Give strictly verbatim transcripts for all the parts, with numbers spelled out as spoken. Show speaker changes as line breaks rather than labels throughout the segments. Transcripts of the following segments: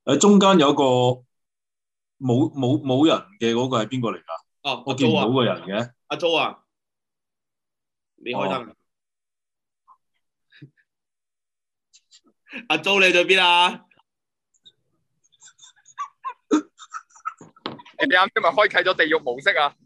誒，中間有個冇冇冇人嘅嗰個係邊個嚟㗎？
哦，
我見唔到個人嘅。
阿 Jo 啊，你開燈。
哦
阿 Jo 你喺邊啊？
你啱先咪開啟咗地獄模式啊？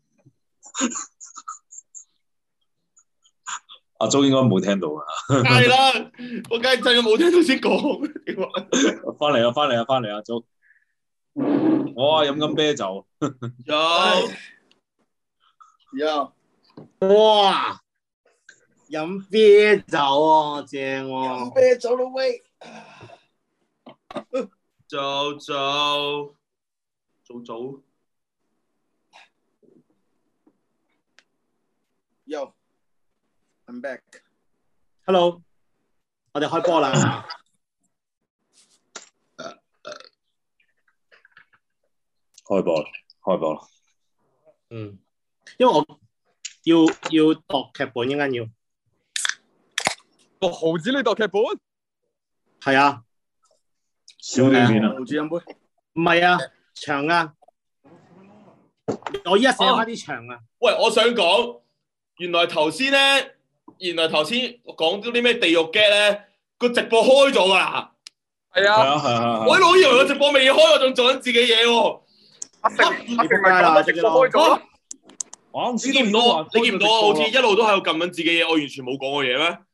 阿 Jo 應該冇聽到啊。
係啦，我梗係真係冇聽到先講。
翻嚟啊！翻嚟啊！翻嚟啊 Jo 我啊飲緊啤酒。
有
有。哇！飲啤酒啊，正喎！飲啤酒咯喂！
早早早早。
Yo, I'm back.
Hello， 我哋開波啦。
開波啦！開波啦！
嗯，因為我要要讀劇本，應該要。
個毫子你讀劇本？
係啊。
小短片啊？
毫子飲杯？
唔係啊，長啊。我依家寫翻啲長啊。
喂，我想講，原來頭先咧，原來頭先講咗啲咩地獄 get 咧，個直播開咗㗎啦。
係啊。
係啊係啊。
我一路以為個直播未開，我仲做緊自己嘢喎。
阿成，阿成咪講直播開咗咯。
我
你見唔到我？你見唔到我？好似一路都喺度撳緊自己嘢，我完全冇講過嘢咩？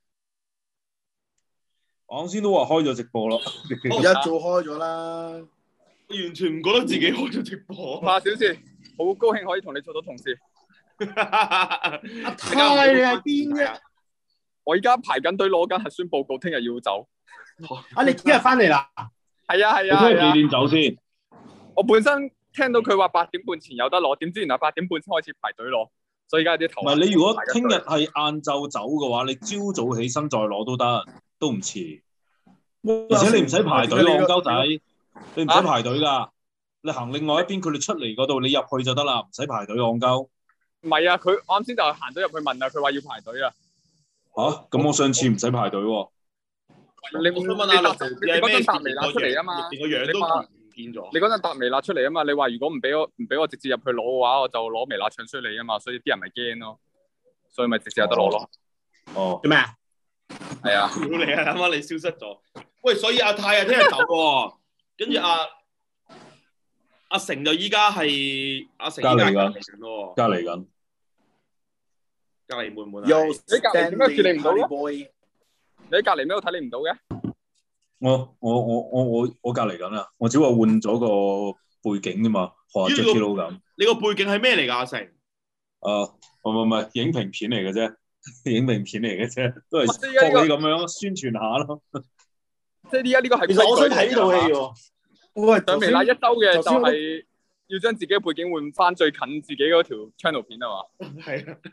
我啱先都話開咗直播咯。
一早開咗啦。
我完全唔覺得自己開咗直播。
馬小姐，好高興可以同你做到同事。
阿泰你喺邊啫？
我而家排緊隊攞緊核酸報告，聽日要走。
啊！你聽日翻嚟啦？
係啊係啊。
你聽日幾點走先？
我本身聽到佢話八點半前有得攞，點知原來八點半先開始排隊攞，所以而家啲頭。
唔係你如果聽日係晏晝走嘅話，你朝早起身再攞都得，都唔遲。而且你唔使排隊，戇鳩仔，你唔使排隊㗎。你行另外一邊，佢哋出嚟嗰度，你入去就得啦，唔使排隊，戇鳩。
唔係啊，佢啱先就行咗入去問啊，佢話要排隊啊。
吓？咁我上次唔使排隊喎。
你我想問阿樂，你嗰陣搭微辣出嚟啊嘛？
連個樣都唔見咗。
你嗰陣搭微辣出嚟啊嘛？你話如果唔俾我唔俾我直接入去攞嘅話，我就攞微辣唱衰你啊嘛，所以啲人咪驚咯，所以咪直接有得攞咯。
哦。
做咩啊？
係啊。
屌你啊！啱啱你消失咗。喂，所以阿泰啊，聽日走喎，跟住阿阿成就依家係阿成依家隔離緊喎。
隔離緊。
隔離悶唔悶啊？
又
你隔離點解處理唔到咯？
boy
你喺隔離咩度睇你唔到嘅？
我我我我我我隔離緊啦，我只話換咗個背景啫嘛，學 Jacky Lou 咁。
你個背景係咩嚟㗎？阿成？
啊，唔唔唔係影評片嚟嘅啫，影評片嚟嘅啫，都係學你咁樣宣傳下咯。
即係而家呢個係。
其實我想睇呢套戲喎。
喂，
上微辣一周嘅就係要將自己嘅背景換翻最近自己嗰條 channel 片啊嘛。
係啊。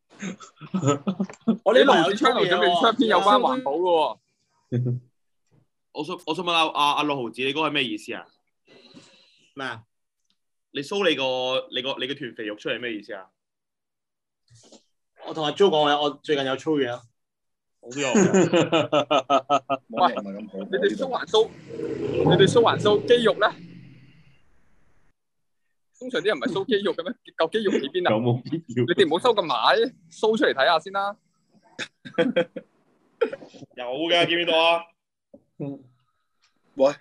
我呢輪 channel 準備出篇有關環保嘅喎。
我想我想問阿阿阿六毫子，你嗰個係咩意思啊？
咩啊？
你 show 你個你個你個團肥肉出嚟咩意思啊？
我同阿 Jo 講嘅，我最近有操嘢啊。
我都有。
喂，你哋 show 還 show， 你哋 show 還 show 肌肉咧？通常啲人唔係 show 肌肉嘅咩？嚿肌肉喺邊啊？
有冇必要？
你哋唔好收咁埋 ，show 出嚟睇下先啦。
有嘅，見唔見到啊？
喂，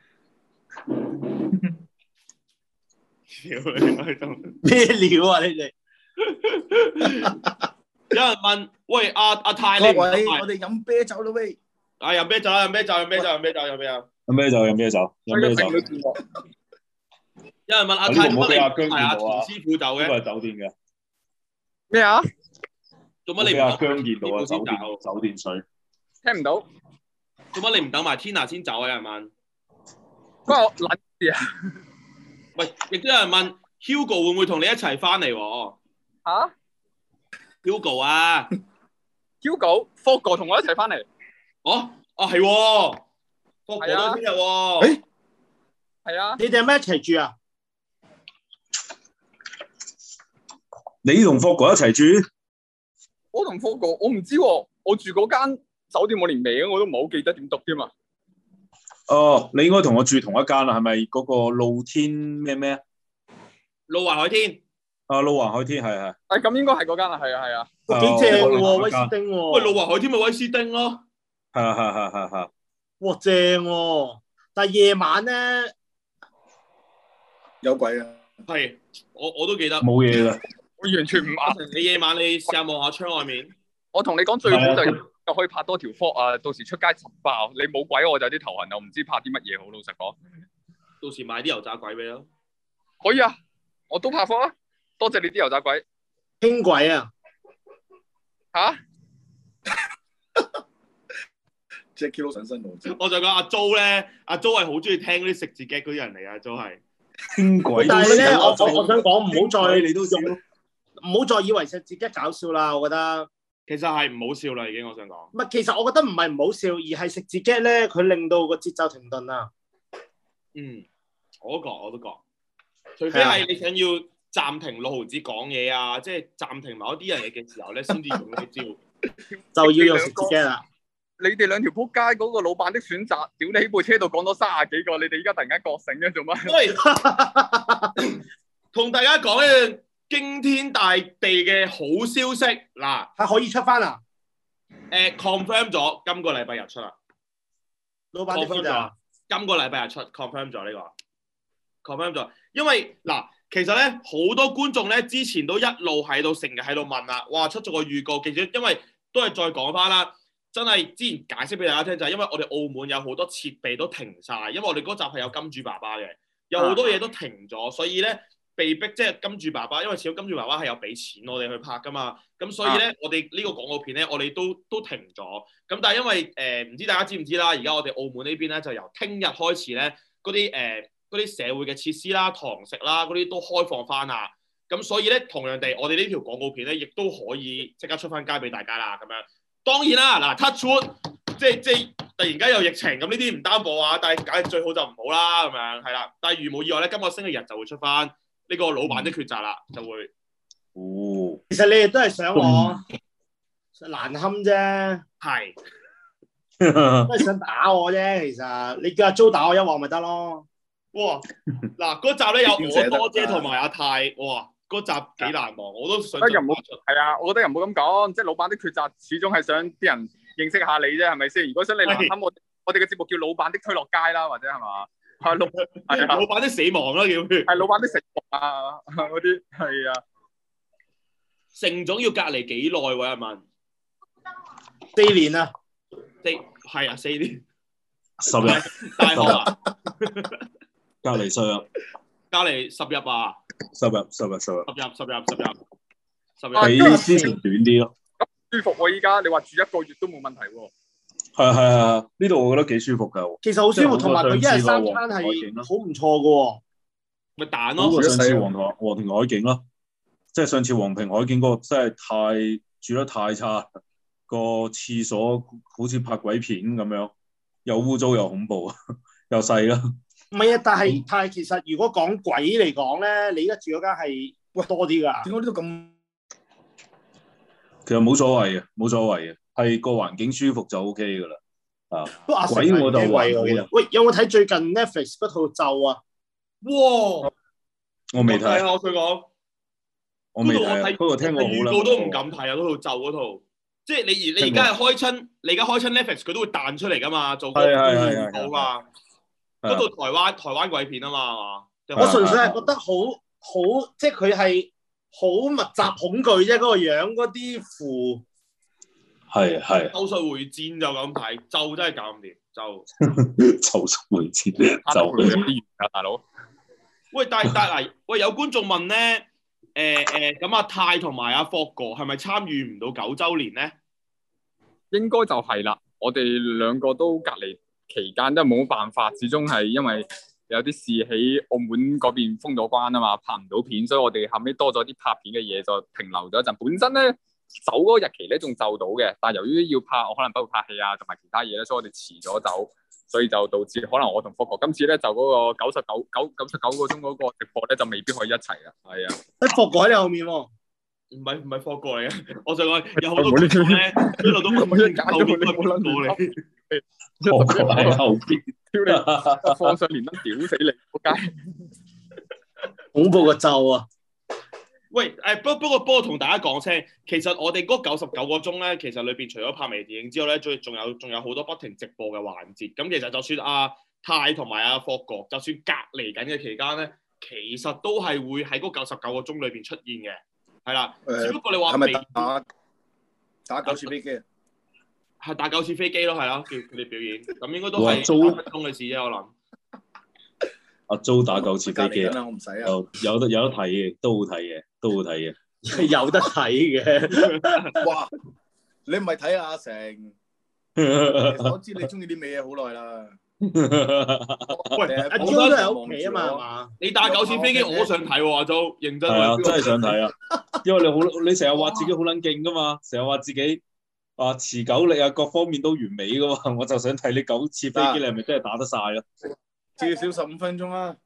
咩料啊？你哋
有人問，喂阿阿泰，
各
你
位我哋飲啤酒啦喂！
啊飲啤酒啦，飲啤酒，飲啤酒，飲啤酒，飲啤酒。
飲啤酒，飲啤酒，飲啤酒。
有人問阿泰，
唔好俾阿姜見
係阿田
到啊！
師傅走嘅。
呢個係酒店嘅。
咩啊？
做乜你唔
俾阿姜見到啊？酒店
走
酒店水。
聽唔到。
做乜你唔等埋 Tina 先走啊？有人問。
關我撚事啊！
喂，亦都有人問 Hugo 會唔會同你一齊翻嚟？
嚇
？Hugo 啊
，Hugo、Fogo 同我一齊翻嚟。
哦，哦係喎 ，Fogo 都係聽日喎。
誒，
係啊。
你哋係咪一齊住啊？
你同霍哥一齊住？
我同 Fogo，我唔知喎，我住嗰間酒店我連名我都唔係好記得點讀添嘛。
哦，你應該同我住同一間啦，係咪嗰個露天咩咩啊？
路環海天。
啊，露環海天係係。
誒咁應該係嗰間啦，係啊係啊。
哇，幾正喎，威斯汀喎。
喂，路環海天咪威斯汀咯。
係啊係係係係。
哇，正喎！但係夜晚咧
有鬼啊！
係，我我都記得。
冇嘢㗎。
我完全唔啱。
你夜晚你試下望下窗外面。
我同你講最好就就可以拍多條 vlog 啊！到時出街實爆，你冇鬼我就有啲頭痕，我唔知拍啲乜嘢好。老實講，
到時買啲油炸鬼俾你咯。
可以啊，我都拍 vlog 啊！多謝你啲油炸鬼。
輕軌啊！
嚇
！Jackie 都上身喎。
我就講阿 Jo 咧，阿 Jo 係好中意聽嗰啲食字 get 嗰啲人嚟啊 ，Jo 係。
輕軌。
但係咧，我我我想講唔好再
你都笑，
唔好再以為食字 get 搞笑啦，我覺得。
其實係唔好笑啦，已經我想講。
唔係，其實我覺得唔係唔好笑，而係食字 get 咧，佢令到個節奏停頓啊。
嗯，我都覺，我都覺。除非係你想要暫停六毫子講嘢啊，即係暫停某一啲人嘅嘅時候咧，先至用呢招。
就要用食字 get 啦。
你哋兩條撲街嗰個老闆的選擇，屌你喺部車度講咗三十幾個，你哋而家突然間覺醒嘅做乜？
喂，同大家講一樣驚天大地嘅好消息嗱，
係可以出翻啊！
誒 confirm 咗，今個禮拜日出啦。
老闆 confirm 咗，
今個禮拜日出 confirm 咗呢個 confirm 咗，因為嗱，其實咧好多觀眾咧之前都一路喺度成日喺度問啦，哇出咗個預告，其實因為都係再講翻啦。真係之前解釋俾大家聽就係因為我哋澳門有好多設備都停晒，因為我哋嗰集係有金主爸爸嘅，有好多嘢都停咗，所以咧被逼即係金主爸爸，因為始終金主爸爸係有俾錢我哋去拍噶嘛，咁所以咧、啊、我哋呢個廣告片咧我哋都都停咗，咁但係因為誒唔、呃、知大家知唔知啦，而家我哋澳門呢邊咧就由聽日開始咧嗰啲誒嗰啲社會嘅設施啦、堂食啦嗰啲都開放翻啦，咁所以咧同樣地我哋呢條廣告片咧亦都可以即刻出翻街俾大家啦，咁樣。當然啦，嗱 touch wood，即係即係突然間有疫情，咁呢啲唔擔保啊，但係梗係最好就唔好啦，咁樣係啦。但係如無意外咧，今個星期日就會出翻呢個老闆的抉擇啦，就會。
哦，
其實你哋都係想我難堪啫，
係，
都係想打我啫。其實你叫阿 Jo 打我一鑊咪得咯。
哇！嗱嗰集咧有我多姐同埋阿泰，哇！嗰集幾難忘，我都想。
又唔好係啊！我覺得又唔好咁講，即係老闆的抉擇，始終係想啲人認識下你啫，係咪先？如果想你難堪我，我哋嘅節目叫老闆的推落街啦，或者係嘛？係老係啊，
老闆的死亡啦，叫
係老闆的死亡啊，嗰啲係啊。
成總要隔離幾耐喎？一問。
四年啊！
四係啊，四年。
十日。
大學啊！
隔離十日。
隔離十日啊！
十日，十日，十日，
十日，十日，十日，十日，
比之前短啲咯。
舒服喎！依家你話住一個月都冇問題喎。
係係係，呢度我覺得幾舒服㗎。
其實好舒服，同埋佢一日三餐係好唔錯㗎喎。
咪蛋咯。
好過上次皇庭皇庭海景咯，即係上次皇庭海景嗰個真係太住得太差，個廁所好似拍鬼片咁樣，又污糟又恐怖，又細啦。
唔係啊，但係但係其實如果講鬼嚟講咧，你而家住嗰間係多啲㗎。
點解呢度咁？
其實冇所謂嘅，冇所謂嘅，係個環境舒服就 O K 㗎啦。啊，
鬼
我就話
喂，有冇睇最近 Netflix 嗰套咒啊？
哇！
我未睇
啊！我想講，
我未睇，不過聽過好啦。
預告都唔敢睇啊！嗰套咒嗰套，即係你而你而家係開親，你而家開親 Netflix 佢都會彈出嚟㗎嘛，做個預告嘛。嗰套台灣台灣鬼片啊嘛，
我純粹係覺得好好，即係佢係好密集恐懼啫，嗰個樣嗰啲符
係係。
咒術迴戰就咁睇，咒真係搞唔掂，咒。
咒術迴戰就
啲啊，大佬。
喂，但係但係喂，有觀眾問咧，誒誒，咁阿泰同埋阿霍哥係咪參與唔到九週年咧？
應該就係啦，我哋兩個都隔離期間都冇辦法，始終係因為有啲事喺澳門嗰邊封咗關啊嘛，拍唔到片，所以我哋後尾多咗啲拍片嘅嘢就停留咗一陣。本身咧走嗰個日期咧仲就到嘅，但係由於要拍，我可能包括拍戲啊同埋其他嘢咧，所以我哋遲咗走，所以就導致可能我同霍哥今次咧就嗰個九十九九九十九個鐘嗰個直播咧就未必可以一齊啦。係啊，
喺霍哥喺你後面喎。
唔係唔係霍哥嚟嘅，我想講有好多觀眾咧一路都問緊後面邊個嚟。
我個喺後邊，
屌你，放上連登屌死你，仆街！
恐怖個咒啊！
喂，誒不不過不過同大家講聲，其實我哋嗰九十九個鐘咧，其實裏邊除咗拍微電影之外咧，仲仲有仲有好多不停直播嘅環節。咁其實就算阿泰同埋阿霍哥，就算隔離緊嘅期間咧，其實都係會喺嗰九十九個鐘裏邊出現嘅，係啦。
誒
只不過你話
係咪
微
打打九次飛機啊？
係打九次飛機咯，係咯，叫佢哋表演，咁應該都係
哇租
三分鐘嘅事啫，我諗。
阿 Jo 打九次飛機啊，
隔離緊啦，我唔使啊。
有有得有得睇嘅，都好睇嘅，都好睇嘅。
有得睇嘅。
哇！你唔係睇阿成，其實我知你中意啲咩嘢好耐啦。
喂，
阿
我
Jo 都喺屋企啊嘛，係嘛？
你打九次飛機，我都想睇喎，阿 Jo，認真
係啊，
喎。
真係想睇啊！因為你好，你成日話自己好撚勁噶嘛，成日話自己啊持久力啊各方面都完美噶嘛，我就想睇你九次飛機，你係咪真係打得晒啊？
至少十五分鐘啦。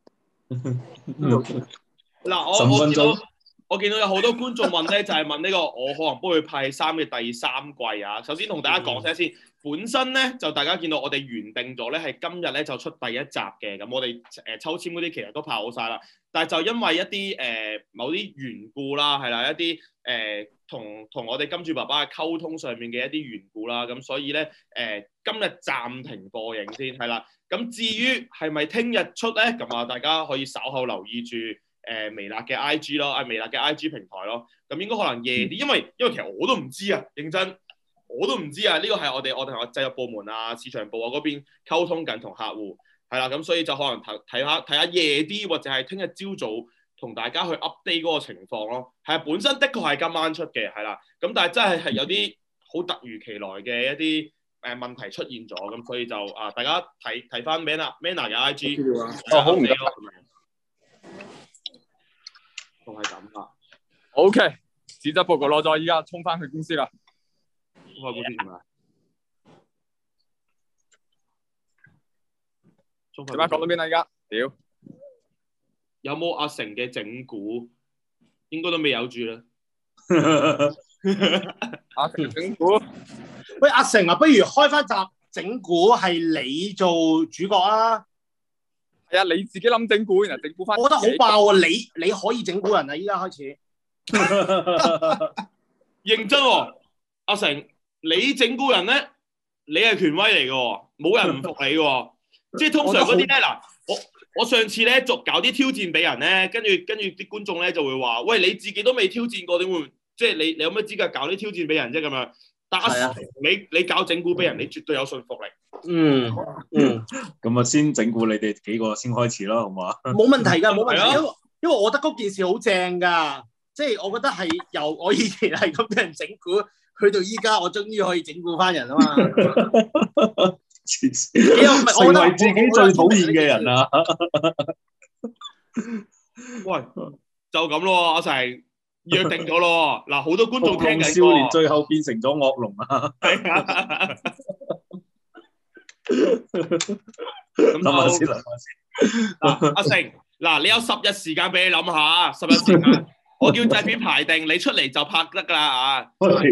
嗱，我
十五
我見到
分鐘
我見到有好多觀眾問咧，就係問呢個我可能幫佢派三嘅第三季啊。首先同大家講聲先，本身咧就大家見到我哋原定咗咧係今日咧就出第一集嘅，咁我哋誒抽籤嗰啲其實都派好晒啦，但係就因為一啲誒、呃、某啲緣故啦，係啦，一啲誒同同我哋金主爸爸嘅溝通上面嘅一啲緣故啦，咁所以咧誒、呃、今日暫停播映先，係啦。咁至於係咪聽日出咧？咁啊，大家可以稍後留意住誒、呃、微辣嘅 I G 咯，啊微辣嘅 I G 平台咯。咁應該可能夜啲，因為因為其實我都唔知啊，認真我都唔知啊。呢個係我哋我哋同製作部門啊、市場部啊嗰邊溝通緊同客戶，係啦。咁所以就可能睇睇下睇下夜啲，或者係聽日朝早同大家去 update 嗰個情況咯。係啊，本身的確係今晚出嘅，係啦。咁但係真係係有啲好突如其來嘅一啲誒問題出現咗，咁所以就啊，大家睇睇翻 Manna Manna 嘅 I G，
哦好唔該，
都係咁啦。
O K， 紙質報告攞咗，依家衝翻去公司啦。
衝翻公司做咩？
點解講到邊啦？依家屌，
有冇阿成嘅整蠱？應該都未有住啦。
阿成整蠱。
喂，阿成啊，不如開翻集整蠱係你做主角啊！
係啊，你自己諗整蠱，然後整蠱翻。
我覺得好爆啊！你你可以整蠱人啊！依家開始。
認真喎、哦，阿成，你整蠱人咧，你係權威嚟嘅喎，冇人唔服你嘅喎。即係通常嗰啲咧，嗱，我我上次咧做搞啲挑戰俾人咧，跟住跟住啲觀眾咧就會話：喂，你自己都未挑戰過，點會？即係你你有咩資格搞啲挑戰俾人啫？咁樣。但係、啊、你你搞整蠱俾人，你絕對有信服力。
嗯嗯，
咁啊，先整蠱你哋幾個先開始啦，好嘛？
冇問題㗎，冇問題，
啊、
因為因為我覺得嗰件事好正㗎，即係我覺得係由我以前係咁俾人整蠱，去到依家我終於可以整蠱翻人啊嘛。
成為自己最討厭嘅人啊！
喂，就咁咯，阿成。約定咗咯，嗱，好多觀眾聽緊喎。
少年最後變成咗惡龍啊！
係啊，
諗下先，諗下先。
嗱，阿成，嗱，你有十日時間俾你諗下，十日時間，我叫製片排定，你出嚟就拍得噶啦啊！
我屌，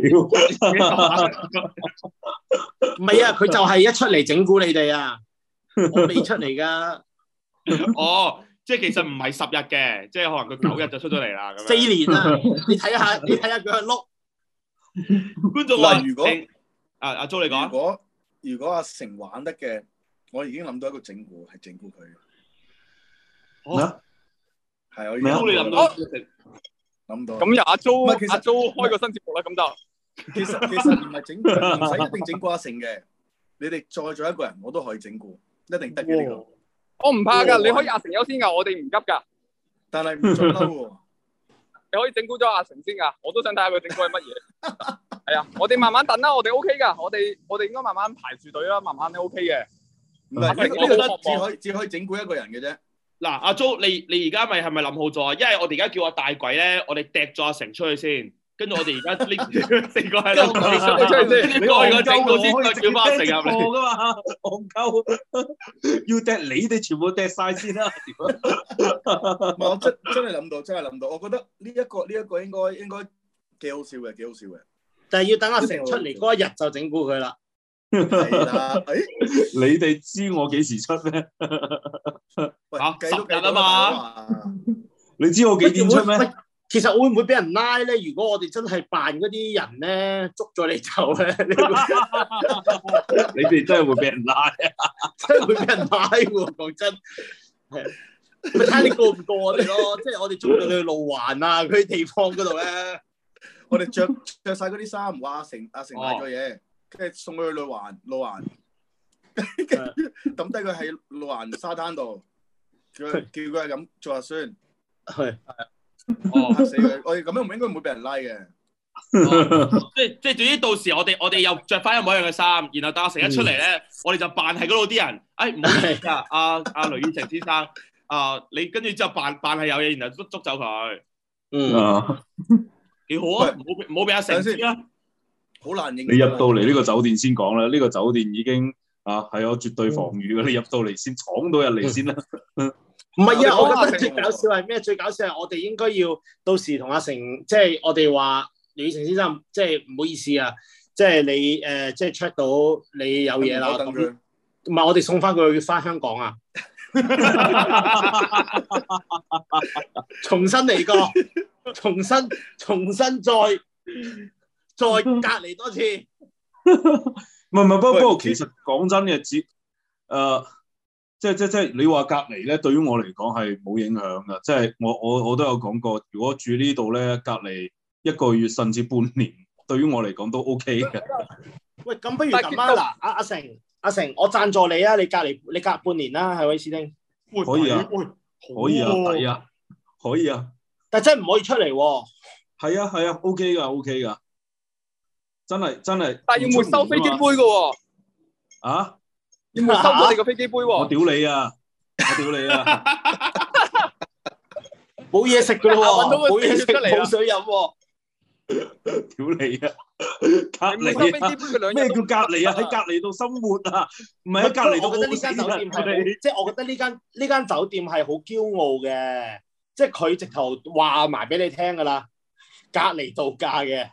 唔係啊，佢就係一出嚟整蠱你哋啊，我未出嚟噶。
哦。即係其實唔係十日嘅，即係可能佢九日就出咗嚟啦。咁樣
四年啦，你睇下，你睇下佢係碌。
觀眾話：
如果
阿阿 Jo 你講，
如果如果阿成玩得嘅，我已經諗到一個整蠱，係整蠱佢。
咩？
係我
咩啊？你諗到？
諗到。
咁由阿 Jo
其實
阿 Jo 開個新節目啦，咁就
其實其實唔係整蠱，唔使一定整蠱阿成嘅。你哋再做一個人，我都可以整蠱，一定得嘅呢個。
我唔怕噶，你可以阿成優先噶，我哋唔急噶。
但係唔准嬲喎。
你可以整蠱咗阿成先噶，我都想睇下佢整蠱係乜嘢。係啊，我哋慢慢等啦，我哋 O K 噶，我哋我哋應該慢慢排住隊啦，慢慢都 O K 嘅。
唔係，呢個呢個只可以只可以整蠱一個人嘅啫。
嗱，阿 Jo，你你而家咪係咪諗好咗啊？因為我哋而家叫阿大鬼咧，我哋掟咗阿成出去先。跟住我哋而家呢四個喺度，你出嚟先，你過個整蠱先，再叫翻阿成入嚟
噶嘛？戇鳩，要掟你哋全部掟晒先啦！
唔係，我真真係諗到，真係諗到。我覺得呢一個呢一個應該應該幾好笑嘅，幾好笑嘅。
但係要等阿成出嚟嗰一日就整蠱佢啦。
係啦，誒，
你哋知我幾時出咩？
喂，
嚇
計都計
十日啊嘛
嘛，
你知我幾點出咩？
喂，其實會唔會俾人拉咧？如果我哋真係扮嗰啲人咧，捉咗你走咧，你會
你哋真係會俾人拉啊！
真係會俾人拉喎。講真，係咪睇你過唔過我哋咯？即係我哋捉到你去路環啊嗰啲地方嗰度咧。
我哋着着晒嗰啲衫，話阿成阿成買咗嘢，跟住送佢去路環路環，跟住抌低佢喺路環沙灘度，叫佢叫佢係咁做核酸，
係
哦，
嚇死佢！我哋咁樣唔應該唔會俾人拉嘅。
即係即係，總之到時我哋我哋又着翻一模一樣嘅衫，然後等阿成一出嚟咧，我哋就扮係嗰度啲人。誒唔好意思啊，阿阿雷宇成先生，啊你跟住之後扮扮係有嘢，然後捉捉走佢，
嗯，
啊！
幾好啊！唔好俾唔好俾阿成知啦。
好難認。
你入到嚟呢個酒店先講啦，呢個酒店已經啊係有絕對防禦嘅，你入到嚟先闖到入嚟先啦。
唔係啊，
我哋講
我覺得
阿成
最搞笑係咩？最搞笑係我哋應該要到時同阿成，即係我哋話李成先生，即係唔好意思啊，即係你誒，即係 check 到你有嘢啦，咁
等佢
唔係我哋送翻佢翻香港啊，重新嚟過，重新重新再再隔離多次。
唔係唔係，不過
喂
不過其實講真嘅，只誒即係即係即係你話隔離咧，對於我嚟講係冇影響㗎。即係我我我都有講過，如果住呢度咧，隔離一個月甚至半年，對於我嚟講都 OK 嘅。
喂，咁不如咁啊，嗱，阿阿成阿成，我贊助你啊，你隔離你隔半年啦，係咪史丁？
喂
可以啊
喂，
可以啊，抵啊，可以啊，
但真係唔可以出嚟喎。
係啊係啊，OK 㗎 OK 㗎，真係真係。
但係要沒收飛機杯嘅喎，
啊！
要沒收咗你個飛機杯
我
喎。
屌你啊！我屌你啊！
冇嘢食噶咯喎，
揾到個
冇嘢食，
出嚟啦
冇水飲喎。
屌你啊！隔
你沒收飛
離啊！
機杯佢兩日
咩叫
都
隔離啊？喺隔離度生活啊？唔係喺隔離度
我覺得呢間酒店係好，即係我覺得呢間呢間酒店係好驕傲嘅，即係佢直頭話埋俾你聽噶啦，隔離度假嘅，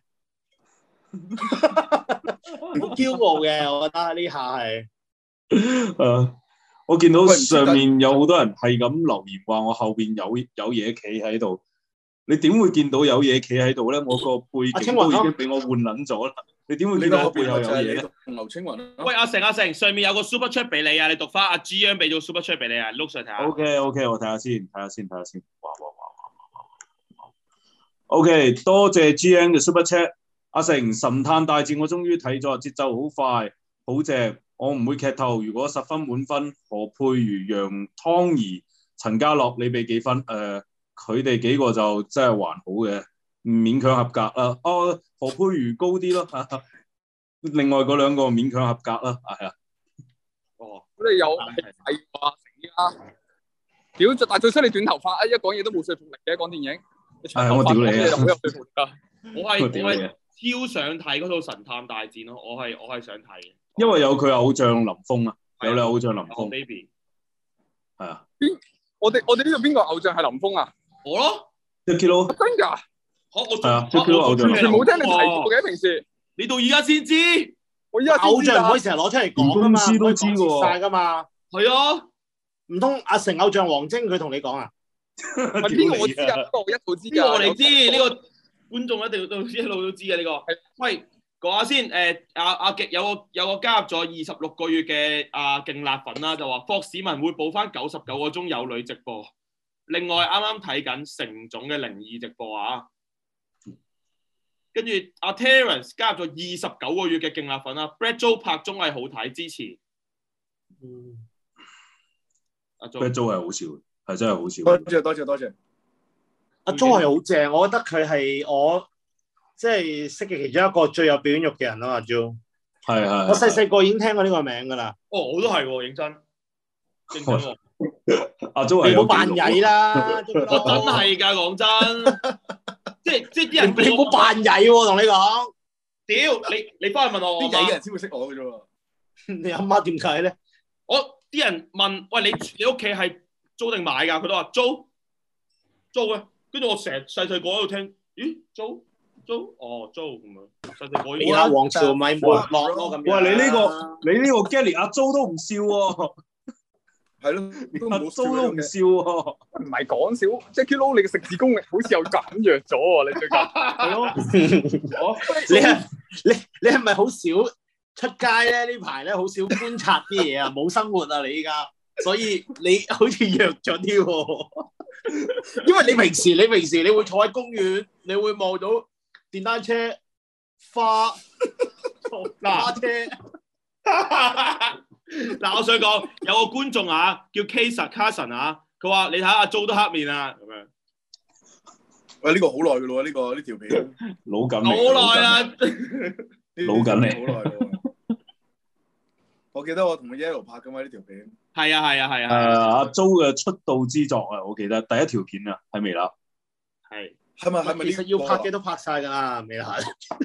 好驕傲嘅，我覺得呢下係。
誒，我見到上面有好多人係咁留言話我後邊有有嘢企喺度，你點會見到有嘢企喺度咧？我個背景都已經俾我換撚咗啦，你點會見到我背後有嘢咧？
劉青雲啊，
喂阿成阿成，上面有個 super chat 俾你啊，你讀翻阿 G 央俾咗 super chat 俾你啊，碌上睇下。
O K O K， 我睇下先，睇下先，睇下先。哇哇哇哇哇哇 O K， 多謝 G N 嘅 super chat。阿成神探大戰我終於睇咗，節奏好快，好正。我唔會劇透，如果十分滿分，何佩瑜、楊湯怡、陳家樂，你俾幾分？誒、呃，佢哋幾個就真係還好嘅，勉強合格啦。哦，何佩瑜高啲咯，另外嗰兩個勉強合格啦，係啊。
哦，
我哋有係話成啊！屌，但係最衰你短頭髮啊！一講嘢都冇說服力嘅，講電影。你長頭髮講嘢就好有說服力㗎。
我係我係
我屌你啊！
超想睇嗰套神探大戰咯，我係我係想睇嘅。
因為有佢偶像林峰啊，有你偶像林
哦
峰，
baby，
係啊。
我哋我哋呢度邊個偶像係林峰啊？
我咯，
Jacky Lou
真㗎？
我我
係啊
我
Jacky Lou 偶像
我
完全冇聽你提過嘅平時。
你到而家先知，
我依家
偶像唔可以
以
成日攞出嚟講噶嘛，
連公司都知喎
晒噶嘛。
係啊，
唔通阿成偶像王晶佢同你講啊？
係邊個我知啊？呢個我一早知
呢個我哋
有
知，呢個觀眾一定到一路都知嘅呢個。喂，講下先，誒阿阿極有個有個加入咗二十六個月嘅阿勁辣粉啦，就話霍市民會補翻九十九個鐘有女直播。另外啱啱睇緊成總嘅靈異直播啊，跟住阿 Terence 加入咗二十九個月嘅勁辣粉啦 ，Brad Joe 拍綜藝好睇，支持。
嗯，
阿
Brad
Joe
Joe 係好笑，係真係好笑。
多謝多謝多謝。
阿 Jo 係好正，我覺得佢係我即係識嘅其中一個最有表演欲嘅人咯。阿 Jo，
係係。
我細細個已經聽過呢個名噶啦。
哦，我都係喎，認真，認真喎。
阿 Jo 係有
你唔好扮曳啦，
我真係㗎，講真，即係即係啲人
你唔好扮曳喎，同你講。
屌你你翻去問我，
啲曳嘅人先會識我嘅啫喎。
你阿媽點解咧？
我啲人問喂，你你屋企係租定買㗎？佢都話租租嘅，跟住我成日細細個喺度聽，咦租租哦租咁樣，實際我
而家王朝咪沒落咯咁樣。
哇！你呢個你呢個 Gary 阿 Jo 都唔笑喎，
係咯，都
阿
冇
Jo 都唔笑喎，
唔係講笑 ，Jackie Lou 你嘅食字功力好似有減弱咗喎，你最近
係咯。我
你係你你係咪好少出街咧？呢排咧好少觀察啲嘢啊，冇生活啊你依家，所以你好似弱咗啲喎。因為你平時你平時你會坐喺公園，你會望到電單車、花、花車。
嗱，我想講有個觀眾啊，叫 Kasa Carson 啊，佢話你睇下阿 Jo 都黑面啊，咁樣。
喂，呢個好耐嘅咯喎，呢個呢條片
老緊
好耐啦，
老緊嚟
好耐咯。我記得我同 Yellow 拍㗎嘛呢條片。
係啊係啊係
誒
啊。
阿 Jo 嘅出道之作啊，我記得第一條片啊，喺微辣。
係。
係咪係咪？
其實要拍嘅都拍晒㗎啦，未啦。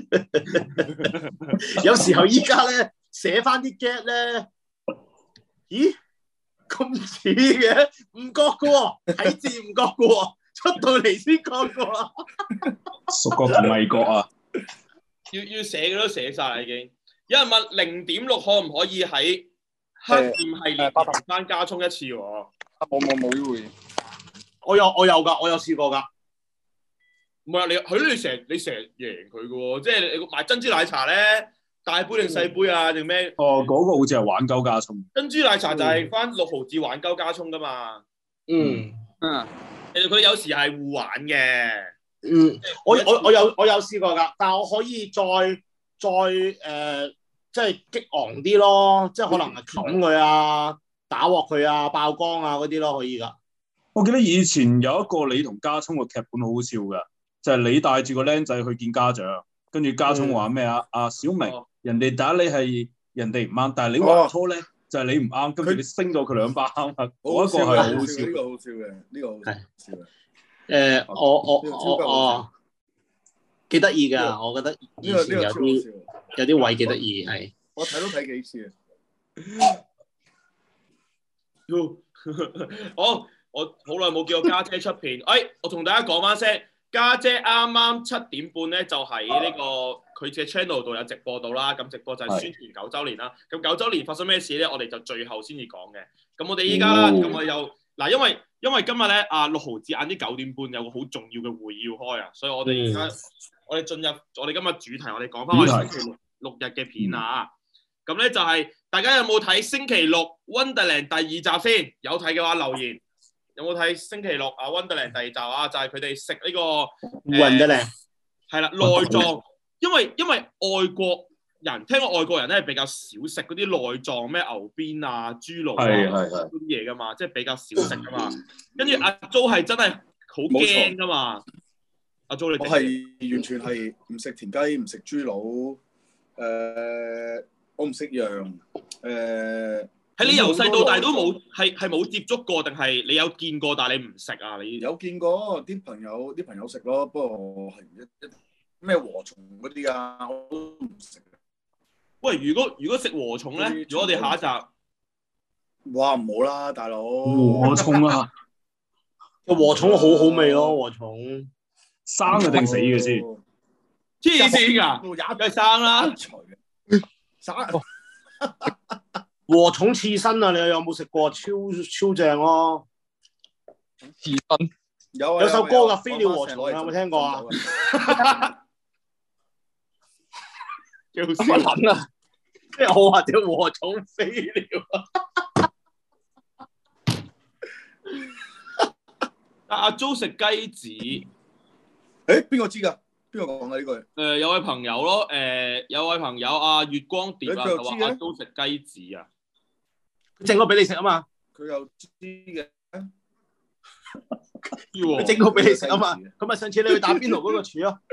有時候依家咧寫翻啲 get 咧，咦咁似嘅，唔覺嘅喎，睇字唔覺嘅喎，出到嚟先覺嘅喎。
屬覺同味覺啊！
要要寫嘅都寫晒啦已經。有人問零點六可唔可以喺黑店系列翻加充一次喎？
冇冇冇呢回。
我有我有㗎，我有試過㗎。
唔係啊，你佢你成日你成日贏佢嘅喎，即係你買珍珠奶茶咧，大杯定細杯啊定咩？
哦，嗰、那個好似係玩鳩加葱。
珍珠奶茶就係翻六毫子玩鳩加葱㗎嘛。
嗯
嗯。
其實佢有時係互玩嘅。
嗯，我我我有我有試過㗎，但係我可以再再誒、呃，即係激昂啲咯，即係可能係冚佢啊、打鑊佢啊、爆光啊嗰啲咯，可以㗎。
我記得以前有一個你同加葱嘅劇本好好笑㗎。就係、是、你帶住個僆仔去見家長，跟住家聰話咩啊？阿小明，
哦、
人哋打你係人哋唔啱，但係你話錯咧，就係、是、你唔啱，跟住你升咗佢兩巴啱啊！嗰一個係好好笑，
呢個好笑嘅，呢個好笑嘅。
誒，我我我我幾得意㗎，我覺得以前有啲有啲位幾得意，係。
我睇都睇幾次
啊！我我好耐冇見過家姐出片，誒、哎，我同大家講翻聲，家姐啱啱七點半咧就喺呢個佢嘅 channel 度有直播到啦，咁直播就係宣傳九週年啦。咁九週年發生咩事咧？我哋就最後先至講嘅。咁我哋依家啦，咁、哦、我又嗱，因為因為今日咧啊六毫子晏啲九點半有個好重要嘅會要開啊，所以我哋而家我哋進入我哋今日主題，我哋講翻我哋星期六六日嘅片啊。咁咧就係、是、大家有冇睇星期六 Wonderland 第二集先？有睇嘅話留言。有冇睇星期六啊 Wonderland 第二集啊？就係佢哋食呢個
Wonderland
係啦內臟，因為因為外國人聽過外國人咧比較少食嗰啲內臟，咩牛鞭啊、豬腦啊嗰啲嘢噶嘛，即係比較少食噶嘛。跟住阿 Jo 係真係好驚噶嘛。阿 Jo 你
我係完全係唔食田雞，唔食豬腦，誒、呃、我唔食羊，誒、呃。
係你由細到大都冇係係冇接觸過，定係你有見過，但係你唔食啊？你
有見過啲朋友啲朋友食咯，不過我係一一咩禾蟲嗰啲啊，我都唔食。
喂，如果如果食禾蟲咧，如果我哋下一集，
哇唔好啦，大佬
禾蟲啊，
個禾蟲好好味咯，禾蟲
生嘅定死嘅先？
黐線㗎，梗係生啦，
生。
禾蟲刺身啊！你有冇食過？超超正咯！
刺身
有啊，
有首歌㗎，《飛鳥禾蟲》有冇聽過啊？
叫乜撚啊？
即係我話隻禾蟲飛了啊！
阿阿 Jo 食雞子，
誒邊個知㗎？邊個講㗎呢句？
誒有位朋友咯，誒有位朋友阿月光碟啊，就話阿 Jo 食雞子啊。
整個俾你食啊嘛，
佢又知嘅，
佢整個俾你食啊嘛，咁咪上次你去打邊爐嗰個廚咯。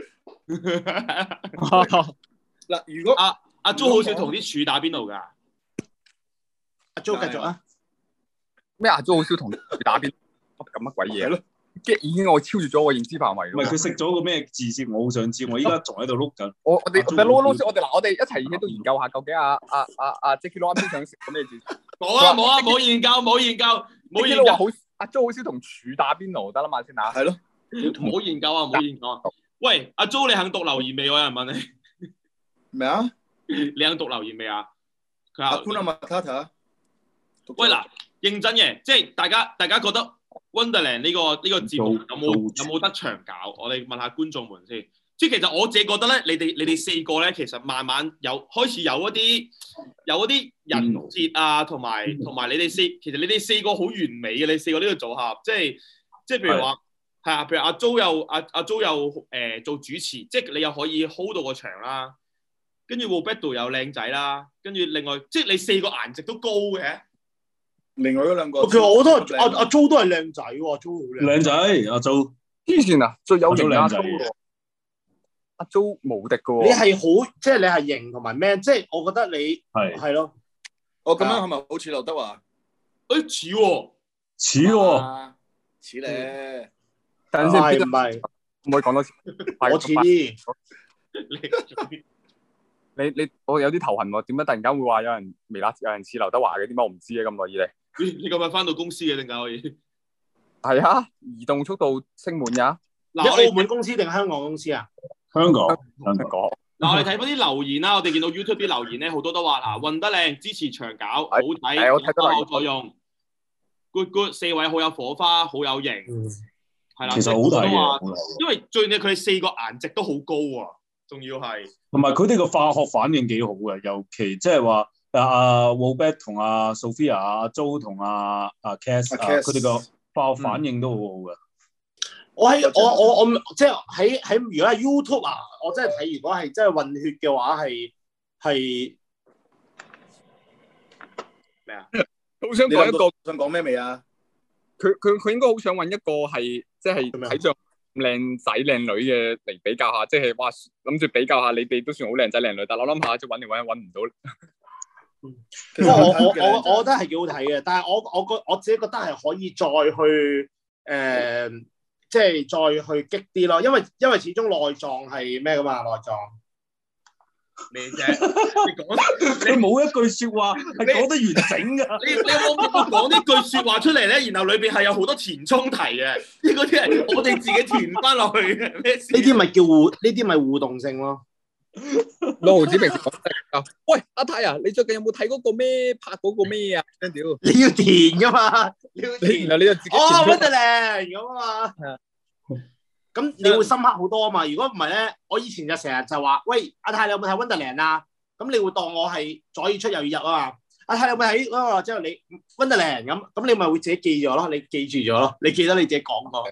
嗱，如果
阿阿 Jo 好少同啲廚打邊爐㗎，
阿 Jo 繼續啊。
咩阿 Jo 好少同廚打邊爐，咁乜鬼嘢咯？即係已經我超越咗我認知範圍。
唔係佢食咗個咩字先？我好想知，我依家仲喺度碌緊。
我我哋我哋撈撈先，我哋嗱我哋一齊喺度研究下，究竟阿阿阿阿 Jackie Lou 啱先想食個咩字？
冇啊冇啊冇研究冇研究冇研究。
好阿 Jo 好少同廚打邊爐，得啦嘛先嚇。
係咯，
冇研究啊冇研究啊。 喂，阿 Jo 你肯讀留言未？有人問你
咩啊？
你肯讀留言未啊？佢話
Hakuna Matata。
喂嗱，認真嘅，即係大家大家覺得 Wonderland 呢、這個呢、這個節目有冇有冇得長搞？我哋問下觀眾們先。即係其實我自己覺得咧，你哋你哋四個咧，其實慢慢有開始有一啲有一啲人設啊，同埋同埋你哋四，其實你哋四個好完美嘅，你四個呢個組合，即係即係譬如話係啊，譬如阿 Jo 又阿阿 Jo 又誒、呃、做主持，即係你又可以 hold 到個場啦，跟住 Roberto 又靚仔啦，跟住另外即係你四個顏值都高嘅。
另外嗰兩個，
其實我都係阿阿 Jo 都係靚仔喎，Jo 好
靚仔，阿 Jo
之前啊，最有型
靚仔。
阿 Jo 無敵嘅喎，
你係好，即係你係型同埋咩？即係我覺得你
係
係咯。
我咁樣係咪好似劉德華？
誒似喎，
似喎，
似咧。
等陣先，
係唔係？
唔可以講多次。
我似啲。
你你我有啲頭痕喎，點解突然間會話有人微辣有人似劉德華嘅？點解我唔知嘅咁耐以嚟？
你你咁日翻到公司嘅點解可以？
係啊，移動速度升滿㗎。
你澳門公司定香港公司啊？
香港，
香港。
嗱，我哋睇翻啲留言啦，我哋見到 YouTube 啲留言咧，好多都話嗱，運得靚，支持長搞，好睇，
我睇到
有作用 ，good good， 四位好有火花，好有型，係啦，
其實好睇嘅，
因為最緊佢哋四個顏值都好高啊，仲要係，
同埋佢哋個化學反應幾好嘅，尤其即係話阿 Robert 同阿 Sophia、阿 Jo 同阿阿 Cass 佢哋個化學反應都好好嘅。
我喺我我我即係喺喺如果係 YouTube 啊，我真係睇如果係真係混血嘅話係係
咩啊？
好想講一個，
想講咩未啊？
佢佢佢應該好想揾一個係即係睇上靚仔靚女嘅嚟比較下，即係話諗住比較下你哋都算好靚仔靚女，但係我諗下即係揾嚟揾去揾唔到。
不過我我我我覺得係幾好睇嘅，但係我我覺我自己覺得係可以再去誒。呃即係再去激啲咯，因為因為始終內臟係咩噶嘛，內臟
咩啫？你講
你冇一句説話係講得完整㗎。
你你有冇講呢句説話出嚟咧？然後裏邊係有好多填充題嘅，呢嗰啲係我哋自己填翻落去嘅。呢
啲咪叫互？呢啲咪互動性咯。
六毫子平時講得喂，阿泰啊，你最近有冇睇嗰個咩拍嗰個咩啊？屌，
你要填噶嘛？你要填，
然後你就自己
哦，Wonderland咁啊嘛。咁你會深刻好多啊嘛。如果唔係咧，我以前就成日就話，喂，阿泰你有冇睇 Wonderland 啊？咁你會當我係左耳出右耳入啊嘛。阿泰你有冇睇嗰個之後你 Wonderland 咁，咁你咪會自己記咗咯。你記住咗咯，你記得你自己講過。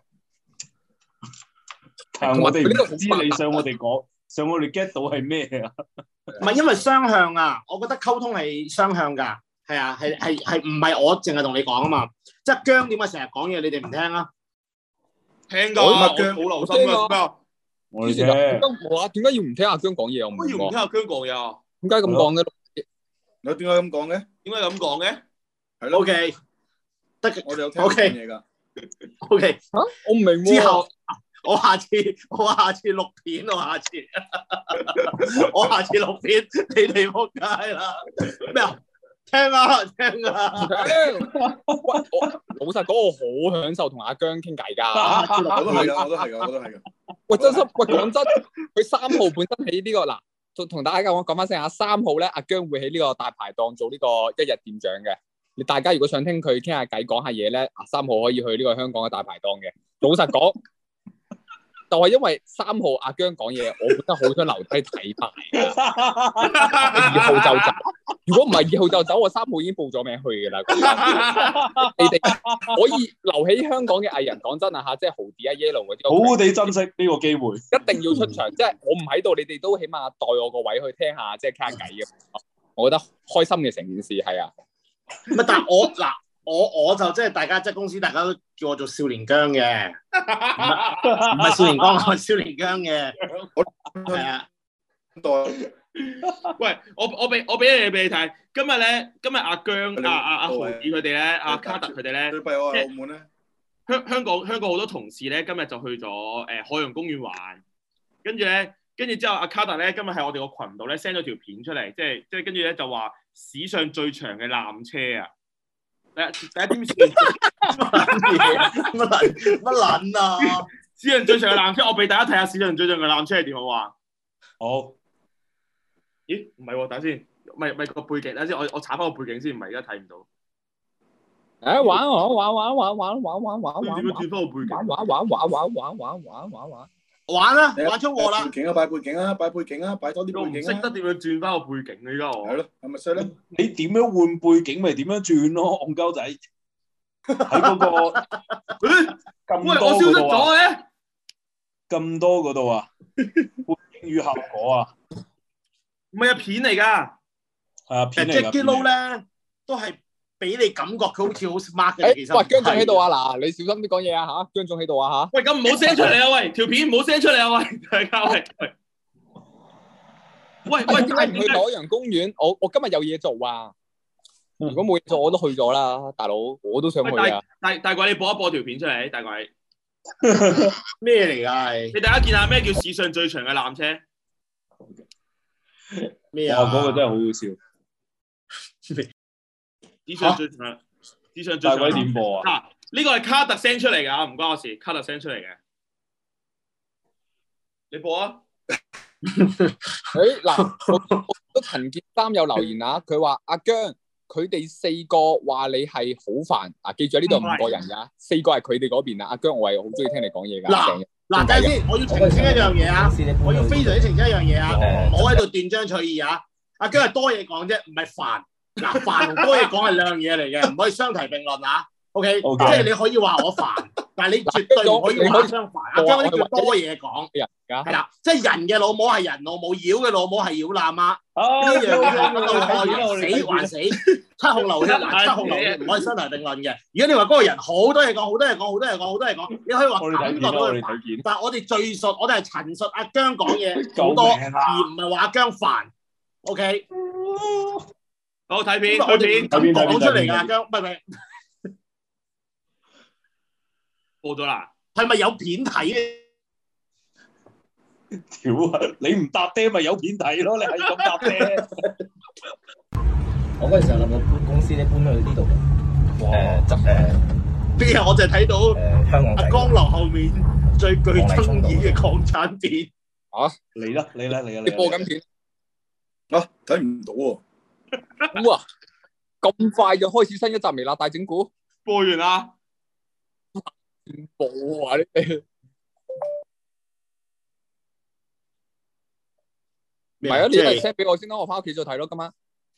但係我哋唔知你想我哋講。上我哋 get 到係咩啊？
唔係因為雙向啊，我覺得溝通係雙向㗎，係啊，係係係唔係我淨係同你講啊嘛？即係姜點解成日講嘢，你哋唔聽啊？
聽㗎，我好留心㗎。
我哋聽。
我話點解要唔聽阿姜講嘢？我唔
點解要唔聽阿姜講嘢啊？
點解咁講嘅？
你點解咁講嘅？
點解咁講嘅？
係咯。O K，得嘅。
我哋有聽講嘢㗎。
O K，
嚇，我唔明喎。
之後。我下次我下次錄片，我下次我下次錄片，你哋仆街啦！咩啊？聽啊聽啊！
老實講，我好享受同阿姜傾偈㗎。
我都係㗎，我都係㗎，我都係㗎。
喂，真心喂，講真，佢三號本身喺呢個嗱，同同大家講講翻聲啊，三號咧，阿姜會喺呢個大排檔做呢個一日店長嘅。你大家如果想聽佢傾下偈、講下嘢咧，啊，三號可以去呢個香港嘅大排檔嘅。老實講。就係因為三號阿姜講嘢，我本身好想留低睇埋二號就走。如果唔係二號就走，我三號已經報咗名去㗎啦。你哋可以留喺香港嘅藝人，講真啊嚇，即係豪迪啊、Yellow 嗰啲，
好好地珍惜呢個機會，
一定要出場。即係我唔喺度，你哋都起碼代我個位去聽下，即係傾下偈嘅。我覺得開心嘅成件事係啊。
唔係，但係我嗱。我我就即係大家即係公司，大家都叫我做少年姜嘅，唔係少年江，我係少年姜嘅，係啊。
喂，我我俾我俾嘢俾你睇，今日咧，今日阿姜、阿阿阿豪子佢哋咧，阿卡特佢哋咧，
最弊我係澳門咧，
香香港香港好多同事咧，今日就去咗誒海洋公園玩，跟住咧，跟住之後阿卡特咧，今日喺我哋個群度咧 send 咗條片出嚟，即係即係跟住咧就話史上最長嘅纜車啊！第一第一點先乜撚乜撚啊！ 史上最長嘅纜車，我俾大家睇下史上最長嘅纜車係點好啊？
好。
咦？唔係喎，等下先，唔係唔係個背景，等下先，我我查翻個背景先，唔係而家睇唔到。
誒玩玩玩玩玩玩玩玩玩玩，
點樣轉翻個背景？
玩玩玩玩玩玩玩玩玩玩。
玩啦，玩出禍啦！
背景啊，擺背景啊，擺背景啊，擺多啲背景啊！
識得點樣轉翻個背景啊？依家我
係咯，係咪衰咧？
你點樣換背景咪點樣轉咯，戇鳩仔。喺嗰個咁
喂，我
多
消失咗
嗰度啊，
嘅。
咁多嗰度啊，背景與效果啊，
唔係啊，片嚟㗎。
係啊，片嚟㗎。
Jackie Lou 咧都係俾你感覺佢好似好 smart 嘅，其實。
喂，姜總喺度啊！嗱，你小心啲講嘢啊嚇，姜總喺度啊嚇。
喂，咁唔好 send 出嚟啊！喂，條片唔好 send 出嚟啊！喂，大家喂喂。喂喂，
點解唔去海洋公園？我我今日有嘢做啊！如果冇嘢做，我都去咗啦，大佬，我都想去啊！
大大鬼，你播一播條片出嚟，大鬼。
咩嚟㗎？係
你大家見下咩叫史上最長嘅纜車？
咩啊？
嗰個真係好好笑。
史上最長，史上最長。
大鬼點播啊？
嗱，呢個係卡特 send 出嚟㗎，唔關我事，卡特 send 出嚟嘅。你播啊！
誒嗱，都陳建三有留言啊，佢話阿姜佢哋四個話你係好煩啊，記住呢度五個人㗎，四個係佢哋嗰邊啊。阿姜我係好中意聽你講嘢㗎。
嗱嗱，等陣先，我要澄清一樣嘢啊，我要非常之澄清一樣嘢啊，唔好喺度斷章取義啊。阿姜係多嘢講啫，唔係煩。嗱，煩同多嘢講係兩樣嘢嚟嘅，唔可以相提並論啊。O K， 即係你可以話我煩，但係你絕對唔可以話相反。阿姜呢叫多嘢講，係啦，即係人嘅老母係人老母，妖嘅老母係妖喇媽。呢樣嘢係死還死，七孔流血還七孔流血，唔可以相提並論嘅。如果你話嗰個人好多嘢講，好多嘢講，好多嘢講，好多嘢講，你可以話感覺到佢煩。但係我哋敘述，我哋係陳述阿姜講嘢好多，而唔係話阿姜煩。O K，
好睇片，
我哋唔敢講出嚟㗎，阿姜，唔係唔係。
播咗啦，
係咪有片睇咧？
屌啊！你唔搭爹咪有片睇咯，你係咁搭爹。
我嗰陣時候諗到搬公司咧，搬去呢度嘅。誒執誒
邊日我就睇到
誒香港
阿江流後面最具爭議嘅港產片。
啊！
嚟啦嚟啦嚟啦！
你播緊片
啊？睇唔到喎！
哇！咁快就開始新一集微辣大整蠱？
播完啦。
冇啊！呢啲唔係啊！你一係 send 俾我先啦，我翻屋企再睇咯。今晚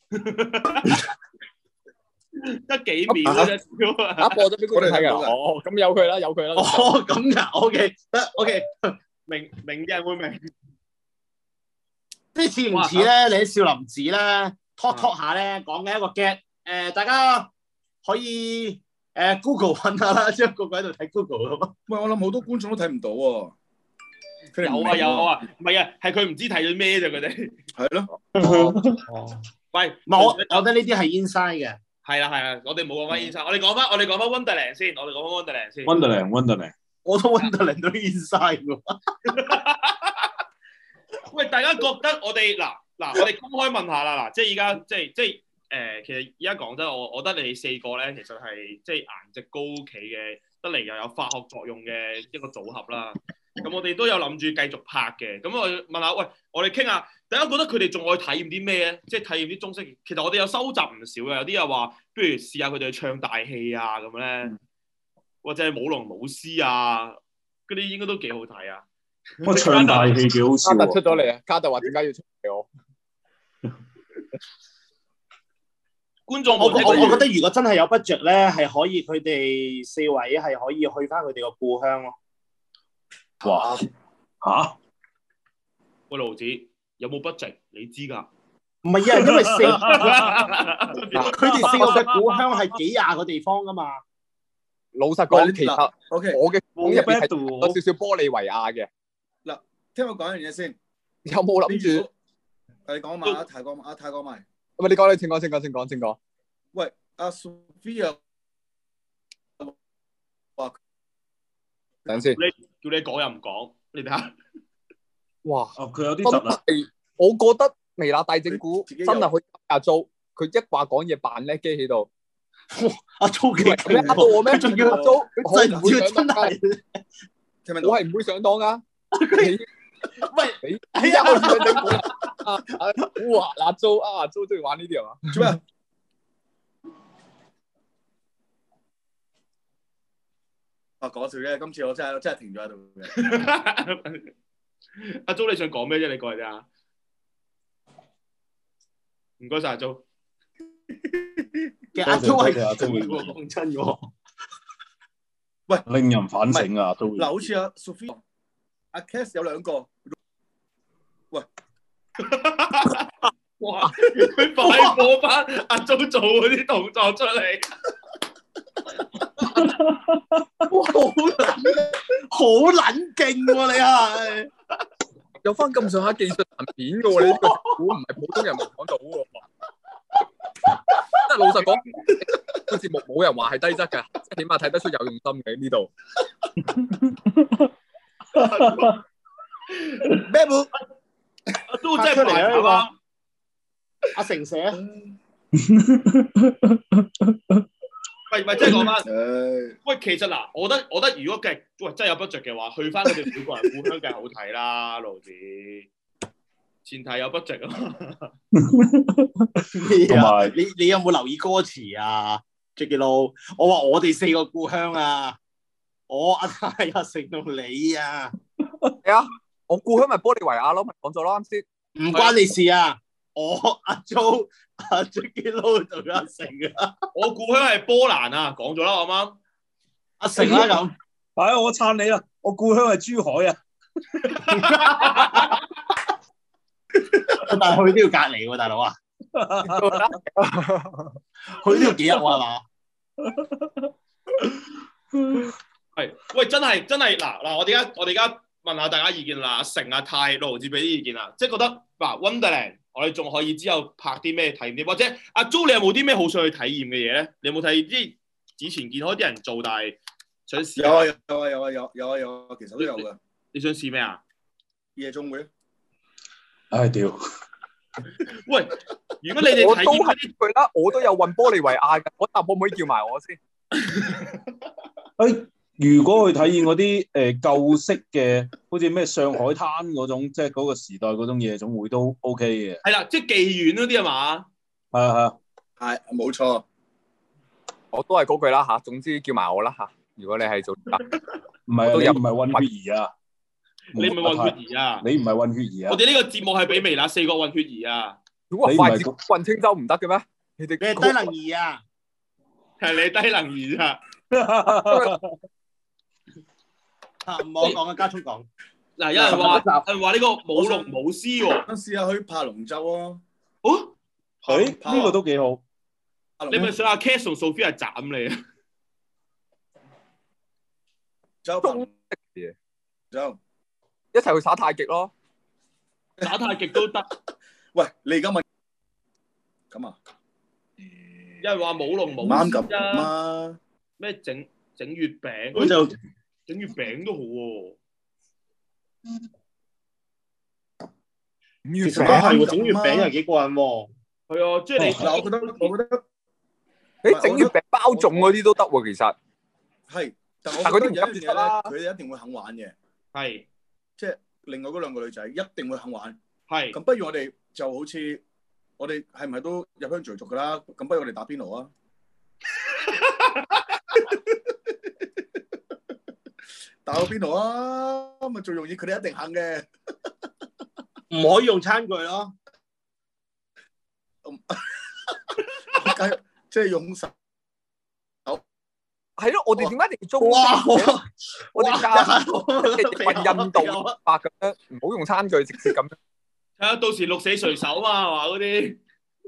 得幾秒啫，
啊播咗俾觀眾睇㗎。哦，咁有佢啦，有佢啦。
哦，咁㗎，OK，得 OK，
明明嘅人會明。
即係似唔似咧？你喺少林寺咧 talk talk 下咧，講緊一個 get，誒，大家可以。誒 Google 揾下啦，即係個個喺度睇 Google 咯。
喂，我諗好多觀眾都睇唔到喎。
有啊有啊，唔係啊，係佢唔知睇咗咩啫，佢哋。
係咯。
哦。喂，唔係我，我覺得呢啲係 inside 嘅。
係啦係啦，我哋冇講翻 inside，我哋講翻我哋講翻 Wonderland 先，我哋講翻 Wonderland 先。
Wonderland Wonderland，
我都 Wonderland 都 inside 喎。
喂，大家覺得我哋嗱嗱，我哋公開問下啦，嗱，即係而家即係即係。誒、呃，其實而家講真，我我覺得你哋四個咧，其實係即係顏值高企嘅，得嚟又有化學作用嘅一個組合啦。咁我哋都有諗住繼續拍嘅。咁我問下，喂，我哋傾下，大家覺得佢哋仲可以體驗啲咩咧？即係體驗啲中式。其實我哋有收集唔少嘅，有啲又話，不如試下佢哋去唱大戲啊咁咧，或者係舞龍舞獅啊，嗰啲應該都幾好睇啊。
我唱大戲幾好笑。
卡特出咗嚟啊！卡特話點解要出嚟我？
觀眾，
我我我覺得如果真係有 budget 咧，係可以佢哋四位係可以去翻佢哋個故鄉咯。
哇！嚇？
喂，盧子有冇 budget？你知㗎？
唔係啊，因為四佢哋四個嘅故鄉係幾廿個地方㗎嘛。
老實講，其實
OK，
我嘅講入邊係有少少玻利維亞嘅。
嗱，聽我講一樣嘢先。
有冇諗住？
你講埋啊，泰國啊，泰國埋。
喂，你講你請講，請講，請講，請講。
喂，阿 Sophia 話
等先，
你叫你講又唔講，你睇下。
哇！
哦，佢有啲窒啊。
我覺得微辣大整蠱真係可以阿 Jo，佢一話講嘢扮叻機喺度。
阿 Jo 幾
咩？呃到我咩？
仲要阿
Jo，
佢真係唔會真係。
聽唔聽到？
我係唔會上當噶。
喂，
你依家開始想整蠱啦啊啊！哇，阿 Jo 啊 ，Jo 中意玩呢啲係嘛？
做咩？啊，講笑啫！今次我真係真係停咗喺度嘅。
阿 Jo 你想講咩啫？你過嚟啫。唔該晒阿 Jo。
其實阿 Jo 係
阿 Jo
講真喎。
喂，
令人反省啊！都
嗱，好似阿 Sophie、阿 Cass 有兩個。喂，
哇！佢快播翻阿 Jo 做嗰啲動作出嚟。
哇，好撚好撚勁喎！你係
有翻咁上下技術層面嘅喎，你呢個估唔係普通人冇講到喎。即係老實講，個節目冇人話係低質嘅，即係起碼睇得出有用心嘅呢度。
咩冇？
阿 Jo 真係排頭啊！
阿成寫。
喂喂，即係講翻，喂，其實嗱，我覺得我覺得如果嘅喂真係有 budget 嘅話，去翻佢哋每個人故鄉梗係好睇啦，盧子。前提有 budget 啊嘛。
同埋你你有冇留意歌詞啊 ？Jacky Lou，我話我哋四個故鄉啊，我阿太阿成到你啊。
係啊，我故鄉咪玻利維亞咯，咪講咗咯啱先。
唔關你事啊！我阿 Jo、阿 Jacky Lou 同阿成啊，
我故鄉係波蘭啊，講咗啦，啱啱？
阿成啦咁，
係啊，我撐你啦！我故鄉係珠海啊，
但係佢都要隔離喎，大佬啊！佢都要幾日喎係嘛？
係，喂，真係真係嗱嗱，我哋而家我哋而家問下大家意見啦，阿成、阿泰、盧子俾啲意見啦，即係覺得嗱 Wonderland。我哋仲可以之後拍啲咩體驗啲，或者阿 Jo 你有冇啲咩好想去體驗嘅嘢咧？你有冇睇啲以前見開啲人做，但係想試？
有啊有啊有啊有有啊有啊，其實都有噶。
你想試咩啊？
夜總會。
唉屌！
喂，如果你哋體驗嗰啲
佢啦，我都有運玻利維亞嘅，嗰集可唔可以叫埋我先？
誒，如果去體驗嗰啲誒舊式嘅，好似咩上海灘嗰種，即係嗰個時代嗰種夜總會都 OK 嘅。
係啦，即係妓院嗰啲係嘛？
係啊係啊，
係冇錯。
我都係嗰句啦嚇，總之叫埋我啦嚇。如果你係做，
唔係都有唔係混血兒啊？
你唔係混血兒啊？
你唔係混血兒啊？
我哋呢個節目係俾微辣四個混血兒啊！
如果筷子運青州唔得嘅咩？你哋
你係低能兒啊？
係你低能兒啊！
唔好講啊，加速講。
嗱，有人話有人話呢個舞龍舞獅喎，
試下去爬龍舟啊！
哦，
誒呢個都幾好。
你咪想阿 Cass 同 Sophia 斬你啊？
舟中嘢，舟
一齊去耍太極咯，
耍太極都得。
喂，你而家問咁啊？
有人話舞龍舞
啱
獅
咁啊！
咩整整月餅？
咁就
整月餅都好喎。
其實都係喎，整月餅又幾過癮喎。
係啊，即係你
嗱，我覺得我覺得
誒整月餅包粽嗰啲都得喎，其實
係，但係
但
我覺得有一樣
嗰啲唔急
嘢
啦
咧，佢哋一定會肯玩嘅，
係
即係另外嗰兩個女仔一定會肯玩。
係
咁不如我哋就好似我哋係唔係都入鄉隨俗㗎啦？咁不如我哋打邊爐啊！打個邊爐啊，咪最容易，佢哋一定肯嘅。
唔可以用餐具咯。
即係用手。
係咯，我哋點解一定要中
哇！
我哋教運印度法咁樣，唔好用餐具，直接咁樣。
係啊，到時鹿死誰手嘛，係嘛嗰啲。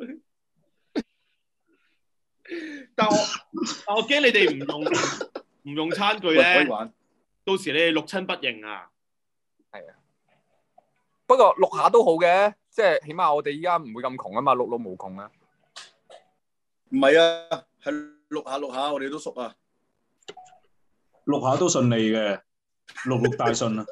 但我但我驚你哋唔用唔用餐具咧，到時你哋六親不認啊。
係啊，不過錄下都好嘅，即係起碼我哋依家唔會咁窮啊嘛，碌碌無窮啊。
唔係啊，係錄下錄下，我哋都熟啊。
錄下都順利嘅，錄錄大順啊！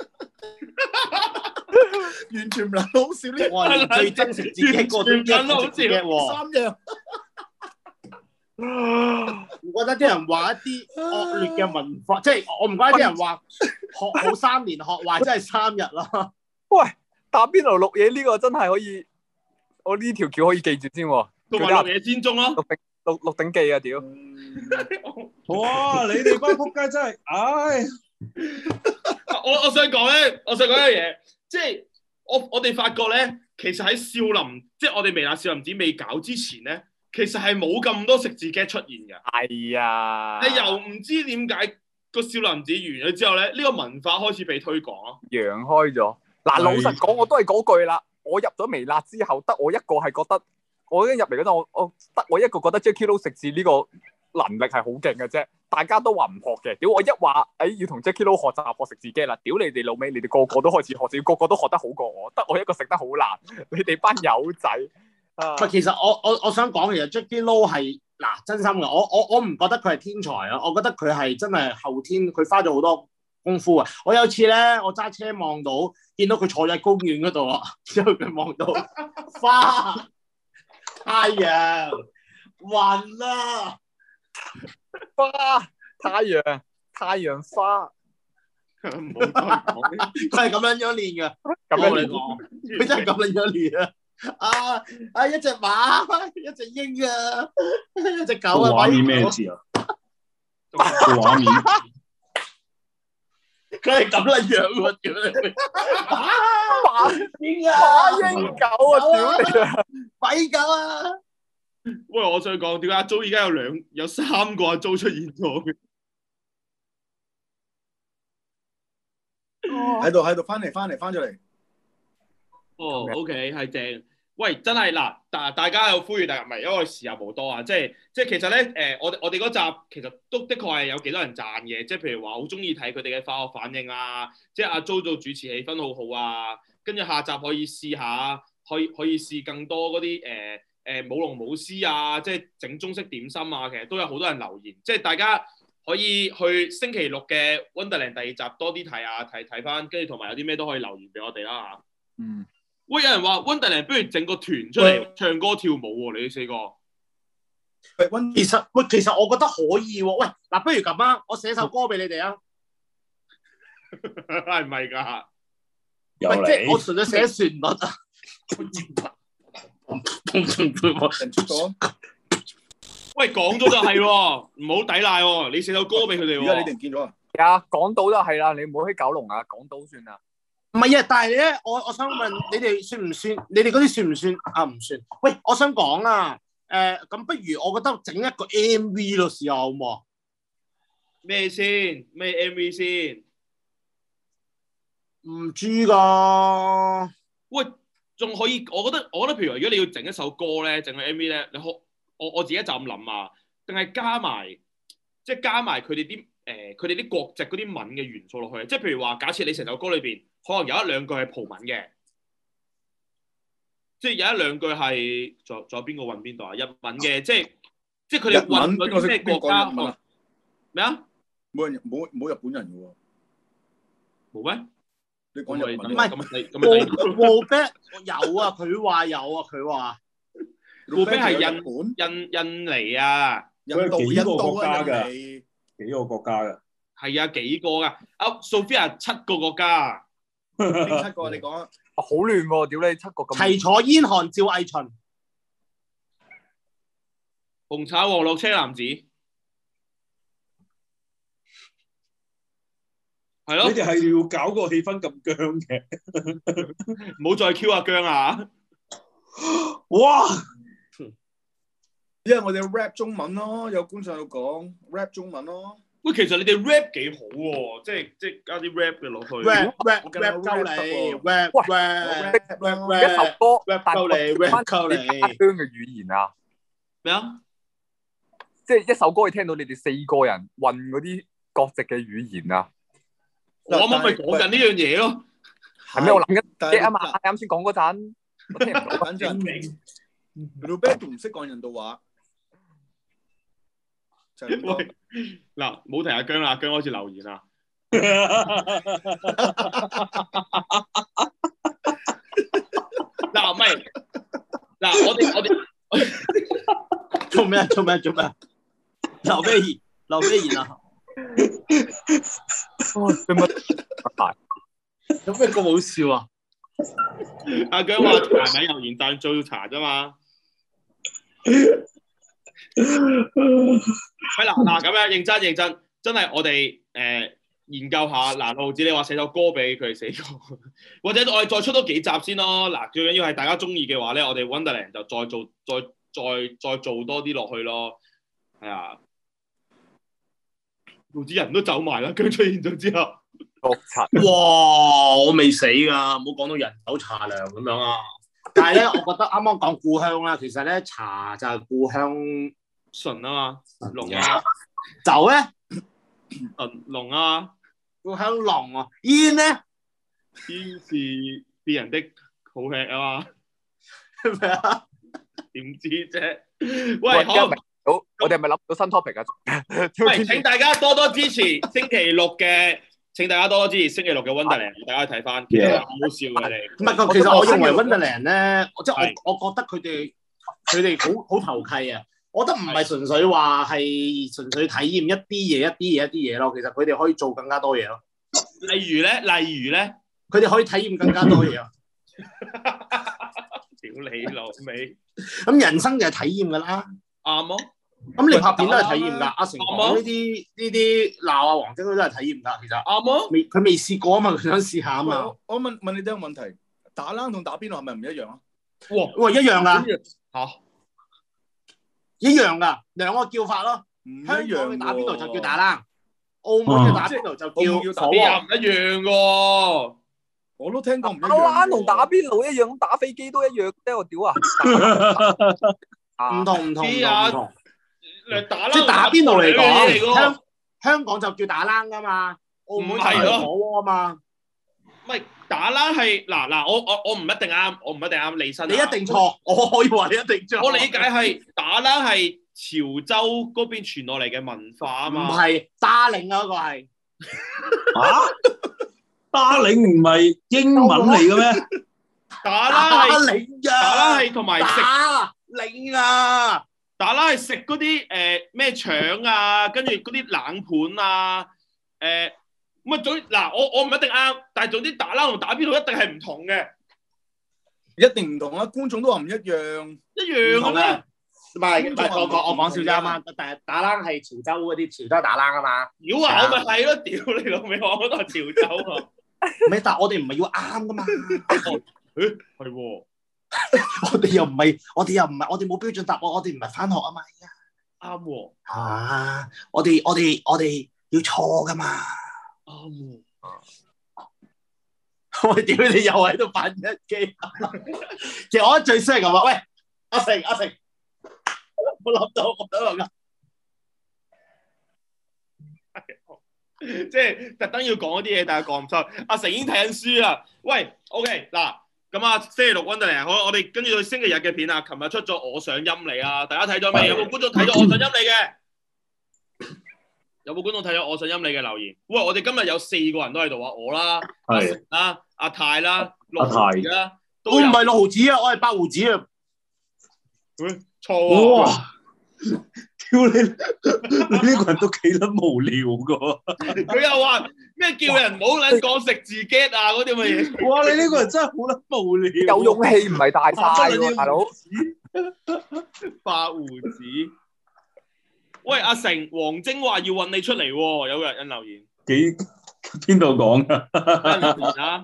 完全唔撚好笑呢！
我係最真實自己一個都一個直接嘅喎。
三樣。
唔覺得啲人話一啲惡劣嘅文化，即係我唔覺得啲人話學好三年，學壞真係三日咯。
喂，打邊爐錄嘢呢個真係可以，我呢條橋可以記住先喎。
同埋錄嘢先中咯，
鹿鼎鹿鹿鼎記啊屌！
哇！你哋班仆街真係，唉！
我我想講咧，我想講一樣嘢，即係我我哋發覺咧，其實喺少林，即係我哋微辣少林寺未搞之前咧，其實係冇咁多食字 get 出現嘅。
係啊，
你又唔知點解個少林寺完咗之後咧，呢個文化開始被推廣咯，
揚開咗。嗱，老實講，我都係嗰句啦。我入咗微辣之後，得我一個係覺得，我一入嚟嗰陣，我我得我一個覺得 Jacky Lou 食字呢個能力係好勁嘅啫。大家都話唔學嘅，屌我一話，誒要同 Jacky Lou 學習學食字機啦，屌你哋老味，你哋個個都開始學字，個個都學得好過我，得我一個食得好難，你哋班友仔。啊，
其實我我我想講，其實 Jacky Lou 係嗱真心嘅，我我我唔覺得佢係天才啊，我覺得佢係真係後天，佢花咗好多功夫啊！我有次咧，我揸車望到，見到佢坐喺公園嗰度啊，之後佢望到花、太陽、雲啊。
花、太陽、太陽花，
唔好再講。
佢係咁樣樣練嘅，
咁樣
練講，佢真係咁樣樣練啊！啊啊！一隻馬，一隻鷹啊，一隻狗啊，
畫面咩字啊？個畫面，
佢係咁樣樣喎，屌你！
馬鷹啊，馬鷹狗啊，屌你啊，
跛狗啊！
喂，我想講點解阿 Jo 而家有兩有三個阿 Jo 出現咗嘅？
喺度喺度，翻嚟翻嚟翻咗嚟。
哦 ，OK， 係正。喂，真係嗱，大大家有呼籲，但係唔係因為時日無多啊，即係即係其實咧，誒、呃，我我哋嗰集其實都的確係有幾多人讚嘅，即係譬如話好中意睇佢哋嘅化學反應啊，即係阿 Jo 做主持氣氛好好啊，跟住下集可以試下，可以可以試更多嗰啲誒誒舞龍舞獅啊，即係整中式點心啊，其實都有好多人留言，即係大家可以去星期六嘅 Wonderland 第二集多啲睇下，睇睇翻，跟住同埋有啲咩都可以留言俾我哋啦嚇。
嗯。
喂，有人話 Wonderland 不如整個團出嚟唱歌跳舞喎，你哋四個。
喂，其實喂，其實我覺得可以喎。喂，嗱，不如咁啊，我寫首歌俾你哋啊。
係咪㗎？
有
即係我純粹寫旋律啊。
人出咗。
喂，講咗就係喎，唔好抵賴喎。你寫首歌俾佢哋喎。
而家你哋唔見咗啊？
係啊，港島都係啦，你唔好喺九龍啊，港島算啦。
唔係啊，但係咧，我我想問你哋算唔算？你哋嗰啲算唔算啊？唔算。喂，我想講啊，誒、呃，咁不如我覺得整一個 M V 咯，試下好唔好？
咩先？咩 M V 先？
唔知㗎。
喂，仲可以？我覺得，我覺得，譬如如果你要整一首歌咧，整個 M V 咧，你可我我自己就咁諗啊，定係加埋，即係加埋佢哋啲誒，佢哋啲國籍嗰啲文嘅元素落去，即係譬如話，假設你成首歌裏邊，可能有一兩句係葡文嘅，即係有一兩句係，仲仲有邊個運邊度啊？日文嘅，即係即係佢哋運嗰啲咩國家？咩啊？
冇人冇冇日本人嘅喎。
冇咩？
你講日文
唔係
咁咁
冇咩？有啊，佢話有啊，佢話。
冇咩係印印印尼啊？
印度
幾個國家
印度啊
㗎？幾個國家㗎？
係啊，幾個㗎？啊 Sophia 七個國家。
邊七個？你講啊！
好亂喎！屌你七個咁。
齊楚燕韓趙魏秦。
紅橙黃綠青藍紫。係咯。
你哋係要搞個氣氛咁僵嘅，
唔好再 Q 阿姜啊！
哇！
因為我哋 rap 中文咯，有觀眾喺度講 rap 中文咯。
喂，其實你哋 rap 幾好喎，即係即係加啲 rap 嘅落去。
rap rap rap 鳩你 rap rap rap
一首歌
rap 鳩你 rap 鳩你。
家鄉嘅語言啊？
咩啊？
即係一首歌，你聽到你哋四個人混嗰啲國籍嘅語言啊？
我啱啱咪講緊呢樣嘢咯。
係咩？我諗緊嘅啊嘛，啱先講嗰陣，我聽唔到。
反正 Roberto 唔識講印度話。
喂，嗱，冇提阿姜啦，阿姜開始留言啦。嗱，唔係，嗱，我哋我哋
做咩做咩做咩？ 劉咩言？劉咩言啊？有咩咁好笑啊？
阿姜話柴米油鹽醬做茶啫嘛。係啦，嗱咁樣認真認真，真係我哋誒、呃、研究下。嗱，六毫子你話寫首歌俾佢哋寫歌，或者我哋再出多幾集先咯。嗱，最緊要係大家中意嘅話咧，我哋 Wonderland 就再做再再再做多啲落去咯。係啊，毫子人都走埋啦，佢出現咗之後。
哇！我未死㗎，唔好講到人走茶涼咁樣啊！但係咧，我覺得啱啱講故鄉啦，其實咧茶就係故鄉
純啊嘛，濃啊，
酒咧
純濃啊，
故鄉濃啊，煙咧
煙是別人的好吃啊嘛，
係咪啊？
點知啫？喂，好，
好，我哋係咪諗到新 topic 啊？
喂，請大家多多支持星期六嘅。請大家多多支持星期六嘅 Wonderland， 大家睇翻，其實好好笑嘅你。
唔係，其實我認為 Wonderland 咧，即係我我覺得佢哋佢哋好好投契啊！我覺得唔係純粹話係純粹體驗一啲嘢、一啲嘢、一啲嘢咯。其實佢哋可以做更加多嘢咯。
例如咧，例如咧，
佢哋可以體驗更加多嘢啊！
屌你老味！
咁人生就係體驗㗎啦。
啱咯。
咁你拍片都係體驗㗎，阿成講呢啲呢啲鬧阿黃晶都係體驗㗎，其實啱咯。未佢未試過啊嘛，佢想試下啊嘛。
我問問你哋一個問題，打冷同打邊爐係咪唔一樣啊？
哇喂，一樣㗎
嚇，
一樣㗎，兩個叫法咯。香港嘅打邊爐就叫打冷，澳門嘅打邊爐就叫火鍋，
唔一樣喎。
我都聽過唔一樣。
打冷同打邊爐一樣，打飛機都一樣啫，我屌啊！
唔同唔同唔同。
打
即係打邊爐嚟講，香香港就叫打冷噶嘛，澳門就係火鍋啊嘛。
唔係打冷係嗱嗱，我我我唔一定啱，我唔一定啱離身。
你一定錯，我可以話你一定錯。
我理解係打冷係潮州嗰邊傳落嚟嘅文化啊嘛。
唔係打領啊，嗰個係。
嚇？打領唔係英文嚟嘅咩？
打冷係
打
冷係同埋食
打領啊！
打冷係食嗰啲誒咩腸啊，跟住嗰啲冷盤啊，誒咁啊總嗱我我唔一定啱，但係總之打冷同打邊爐一定係唔同嘅，
一定唔同啦！觀眾都話唔一樣，
一樣嘅咩？
唔係唔係，我講我講笑啫嘛。但係打冷係潮州嗰啲潮州打冷啊嘛。
屌啊！我咪係咯，屌你老味，我嗰度係潮州啊。
唔係，但係我哋唔係要啱噶嘛。
誒係喎。
我哋又唔係，我哋又唔係，我哋冇標準答案，我哋唔係返學啊嘛，而家
啱喎。
啊，我哋我哋我哋要錯噶嘛。
啱喎。
我屌你又喺度扮一機。其實我覺得最衰係咁啊！喂，阿成阿成，我諗到我諗到㗎。
即係特登要講啲嘢，但係講唔出。阿成已經睇緊書啦。喂 ，OK 嗱。咁啊，星期六 Wonderland，好，我哋跟住到星期日嘅片啊。琴日出咗我想陰你啊，大家睇咗未？有冇觀眾睇咗我想陰你嘅？有冇觀眾睇咗我想陰你嘅留言？喂，我哋今日有四個人都喺度啊，我啦，阿成啦，阿泰啦，六毫子啦，
我唔係六毫子啊，我係八毫子啊。
喂，錯啊！
屌你！你呢個人都幾撚無聊噶。
佢又話咩叫人唔好撚講食自己啊嗰啲咁嘅嘢。
哇！你呢個人真係好撚無聊。
有勇氣唔係大晒喎，大佬。
八胡子。喂，阿成，黃晶話要揾你出嚟喎，有個人留言。
幾邊度講㗎？
啊？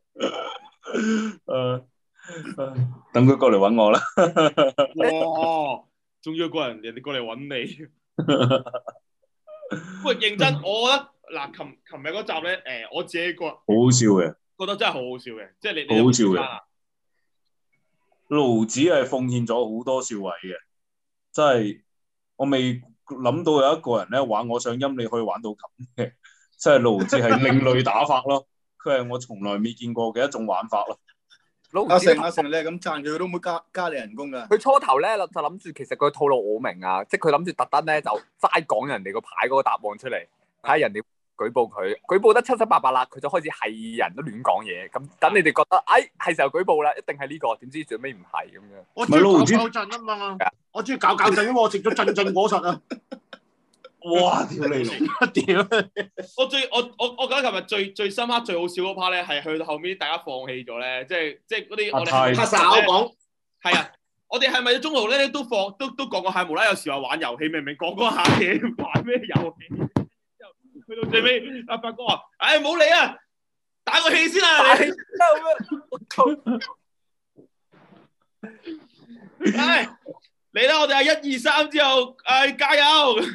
誒，等佢過嚟揾我啦。
哇！仲要個人人哋過嚟揾你。喂，認真，我覺得嗱，琴琴日嗰集咧，誒，我自己個
好好笑嘅，
覺得真係好好笑嘅，即係你
好好笑嘅。盧子係奉獻咗好多笑位嘅，真係我未諗到有一個人咧玩我想陰你可以玩到咁嘅，即係盧子係另類打法咯，佢係我從來未見過嘅一種玩法咯。
阿成阿成，你係咁讚佢，佢都唔會加加你人工噶。
佢初頭咧就諗住，其實佢套路我明啊，即係佢諗住特登咧就齋講人哋個牌嗰個答案出嚟，睇下人哋舉報佢，舉報得七七八八啦，佢就開始係人都亂講嘢，咁等你哋覺得，哎係時候舉報啦，一定係呢個，點知最尾唔係咁樣。
我中意搞搞震啊嘛，我中意搞搞震，因為我食咗震震果實啊。
哇！屌你老，
屌！
我最我我我覺得琴日最最深刻、最好笑嗰 part 咧，係去到後面大家放棄咗咧，即係即係嗰啲我哋
太
拍手講
係啊！我哋係咪中途咧都放都都講過下無啦啦有時話玩遊戲，明明講嗰下嘢玩咩遊戲？之後去到最尾，阿發哥話：，唉，冇理啊，打個氣先啊！你唉，嚟啦！我哋係一二三之後，唉，加油！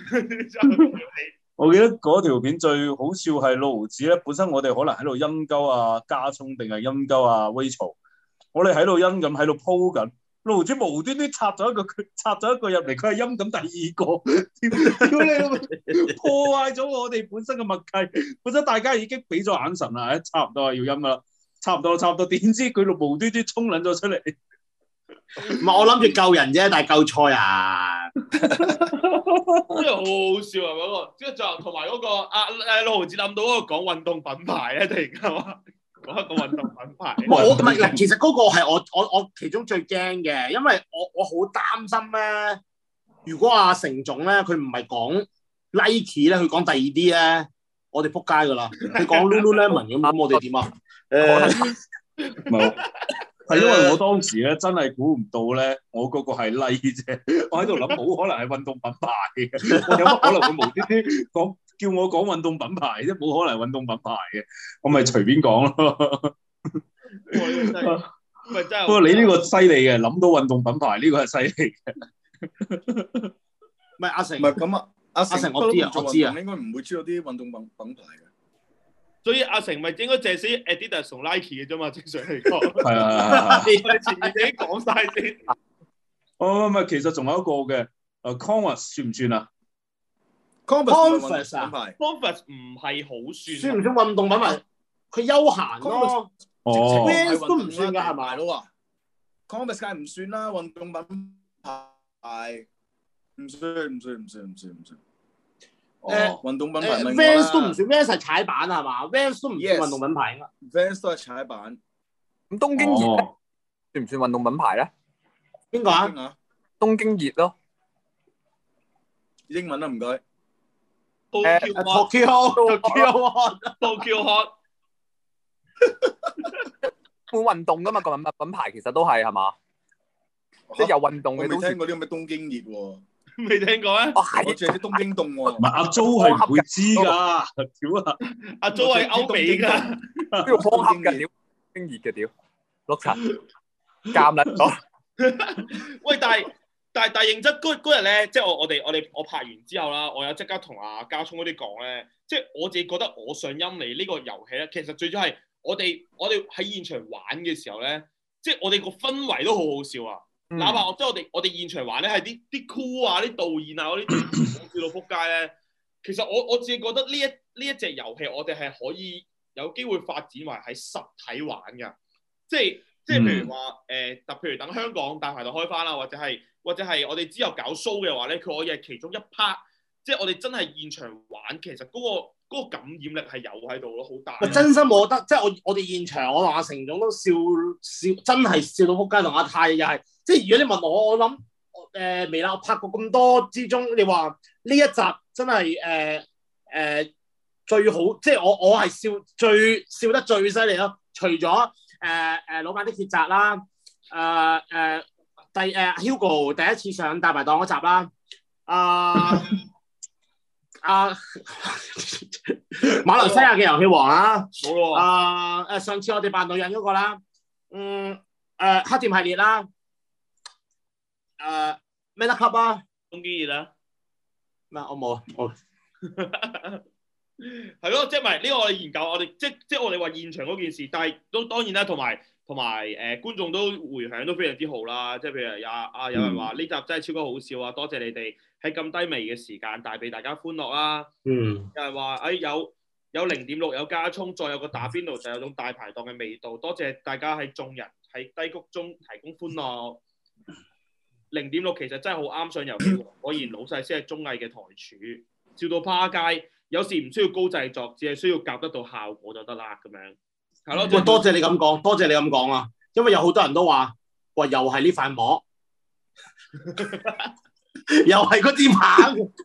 我記得嗰條片最好笑係六毫子咧，本身我哋可能喺度陰鳩啊加聰定係陰鳩啊威曹，我哋喺度陰咁喺度鋪緊，六毫子無端端插咗一個佢插咗一個入嚟，佢係陰咁第二個，屌你老味，破壞咗我哋本身嘅默契。本身大家已經俾咗眼神啦，差唔多係要陰啦，差唔多差唔多，點知佢無端端衝撚咗出嚟。
唔係我諗住救人啫，但係救錯啊！
真係好好笑啊！嗰、那個，即係就同埋嗰個啊誒六毫子諗到嗰個講運動品牌咧，突然間話講一個運動品牌。
我唔係嗱，其實嗰個係我我我其中最驚嘅，因為我我好擔心咧，如果阿成總咧佢唔係講 Nike 咧，佢講第二啲咧，我哋撲街噶啦。佢講 Lululemon 咁，咁我哋點啊？誒，
唔係。係因為我當時咧真係估唔到咧，我嗰個係 Nike 啫，我喺度諗冇可能係運動品牌嘅，我有乜可能會無端端講叫我講運動品牌啫？冇可能係運動品牌嘅，我咪隨便講咯。不過你呢個犀利嘅，諗到運動品牌呢個係犀利嘅。
唔係阿成，
唔係咁啊，阿
成我知啊，我知啊，
應該唔會知道啲運動品品牌嘅。
所以阿成咪應該借死 Adidas 同 Nike 嘅啫嘛，正常嚟講。
係啊，
你前面自己講晒先。
哦，唔係，其實仲有一個嘅，誒 Converse 算唔算啊
？Converse 啊
，Converse 唔係好算。
算唔算運動品牌？佢休閒咯。
哦
，Vans 都唔算㗎，係咪？
咯 Converse 梗係唔算啦，運動品牌唔算，唔算，唔算，唔算，唔算。
誒
運動品牌
誒 Vans 都唔算 Vans 係踩板係嘛 ？Vans 都唔算運動品牌啊
Vans 都係踩板。
咁東京熱咧算唔算運動品牌咧？
邊個啊？
東京熱咯。
英文啊，唔該。
Tokyo
Hot
Tokyo Hot
會運動噶嘛？個品品牌其實都係係嘛？即係有運動嘅都。
我未聽過啲咁嘅東京熱喎。
未聽過咩？
哦，係。
我淨係啲東京凍喎。
唔係阿 Jo 係唔會知㗎，屌啊！
阿 Jo 係歐美㗎，
呢個方盒嘅屌，冰熱嘅屌，碌柒，監撚咗。
喂，但係但係但係認真嗰嗰日咧，即係我我哋我哋我拍完之後啦，我有即刻同阿家聰嗰啲講咧，即係我自己覺得我上陰嚟呢個遊戲咧，其實最主要係我哋我哋喺現場玩嘅時候咧，即係我哋個氛圍都好好笑啊！嗯、哪怕我即係我哋我哋現場玩咧，係啲啲 cool 啊、啲導演啊嗰啲笑到撲街咧。其實我我自己覺得呢一呢一隻遊戲，我哋係可以有機會發展為喺實體玩㗎。即係即係譬如話誒，特、呃、譬如等香港大排檔開翻啦，或者係或者係我哋之後搞 show 嘅話咧，佢可以係其中一 part。即係我哋真係現場玩，其實嗰、嗰個嗰個感染力係有喺度咯，好大。
真心我覺得，即係我我哋現場，我同阿成總都笑笑，真係笑到撲街，同阿泰又係。即係如果你問我，我諗誒未啦，我拍過咁多之中，你話呢一集真係誒誒最好，即係我我係笑最笑得最犀利咯。除咗誒誒老闆的抉擇啦，誒、呃、誒、呃、第誒、呃、Hugo 第一次上大排檔嗰集啦，啊、呃。啊！馬來西亞嘅遊戲王啊，
冇咯。
啊誒，上次我哋扮女人嗰個啦，嗯誒黑店系列啦，誒咩得級啊？
東京熱啦。
咩？我冇啊，我
係咯，即係咪呢個我哋研究，我哋即即係我哋話現場嗰件事，但係都當然啦，同埋同埋誒觀眾都回響都非常之好啦。即係譬如啊啊有人話呢集真係超級好笑啊，多謝你哋。喺咁低微嘅時間帶俾大家歡樂啦，
嗯，
有人話誒有有零點六有加葱，再有個打邊爐就有種大排檔嘅味道，多謝大家喺眾人喺低谷中提供歡樂。零點六其實真係好啱上遊戲王，果然老細先係綜藝嘅台柱，笑到趴街。有時唔需要高製作，只係需要夾得到效果就得啦，咁樣係咯。
喂，多謝你咁講，多謝你咁講啊，因為有好多人都話，喂，又係呢塊膜。又係嗰支棒，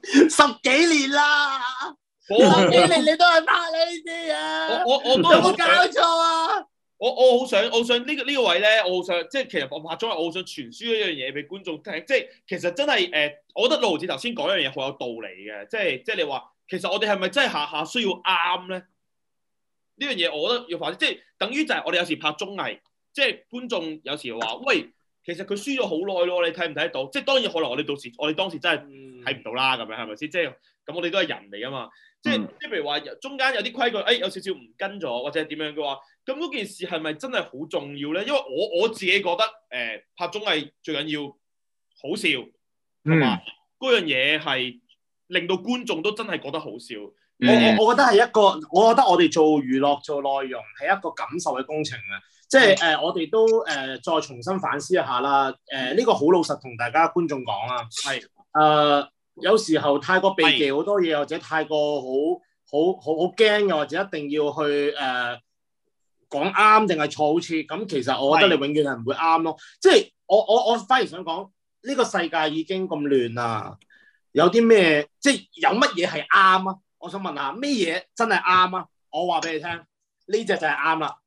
十幾年啦，十幾年你都係拍呢啲啊！
我我我都
有冇搞錯啊？
我我好想，我想呢個呢個位咧，我好想即係其實我拍咗，我好想傳輸一樣嘢俾觀眾聽。即係其實真係誒、呃，我覺得六毫子頭先講一樣嘢好有道理嘅。即係即係你話，其實我哋係咪真係下下需要啱咧？呢樣嘢我覺得要反，即係等於就係我哋有時拍綜藝，即係觀眾有時話，喂，其實佢輸咗好耐咯，你睇唔睇得到？即係當然可能我哋到時我哋當時真係睇唔到啦，咁樣係咪先？即係咁，我哋都係人嚟噶嘛。即係即係譬如話中間有啲規矩，誒、哎、有少少唔跟咗，或者係點樣嘅話，咁嗰件事係咪真係好重要咧？因為我我自己覺得誒、呃、拍綜藝最緊要好笑，同埋嗰樣嘢係令到觀眾都真係覺得好笑。
我我我覺得係一個，我覺得我哋做娛樂做內容係一個感受嘅工程啊！即係誒、呃，我哋都誒、呃、再重新反思一下啦。誒、呃、呢、這個好老實同大家觀眾講啊。係誒、呃，有時候太過避忌好多嘢，或者太過好好好好驚嘅，或者一定要去誒、呃、講啱定係錯，好似咁。其實我覺得你永遠係唔會啱咯。即係我我我反而想講，呢、這個世界已經咁亂啦，有啲咩即係有乜嘢係啱啊？我想問下咩嘢真係啱啊？我話俾你聽，呢隻就係啱啦。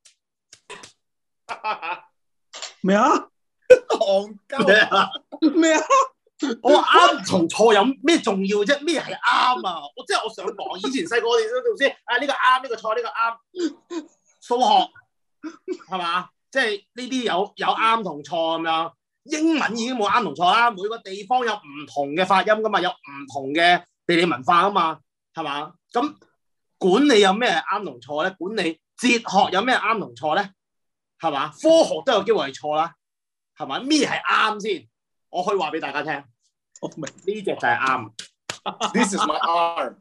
咩啊？
戇鳩咩啊？我話啱同錯有咩重要啫？咩係啱啊？我即係我想講，以前細個我哋都知啊，呢個啱，呢個錯，呢個啱。數學係嘛？即係呢啲有有啱同錯咁樣。英文已經冇啱同錯啦，每個地方有唔同嘅發音噶嘛，有唔同嘅地理文化啊嘛。係嘛？咁管理有咩啱同錯咧？管理哲學有咩啱同錯咧？係嘛？科學都有機會係錯啦，係嘛？咩係啱先？我可以話俾大家聽，我明呢隻就係啱。This is my arm。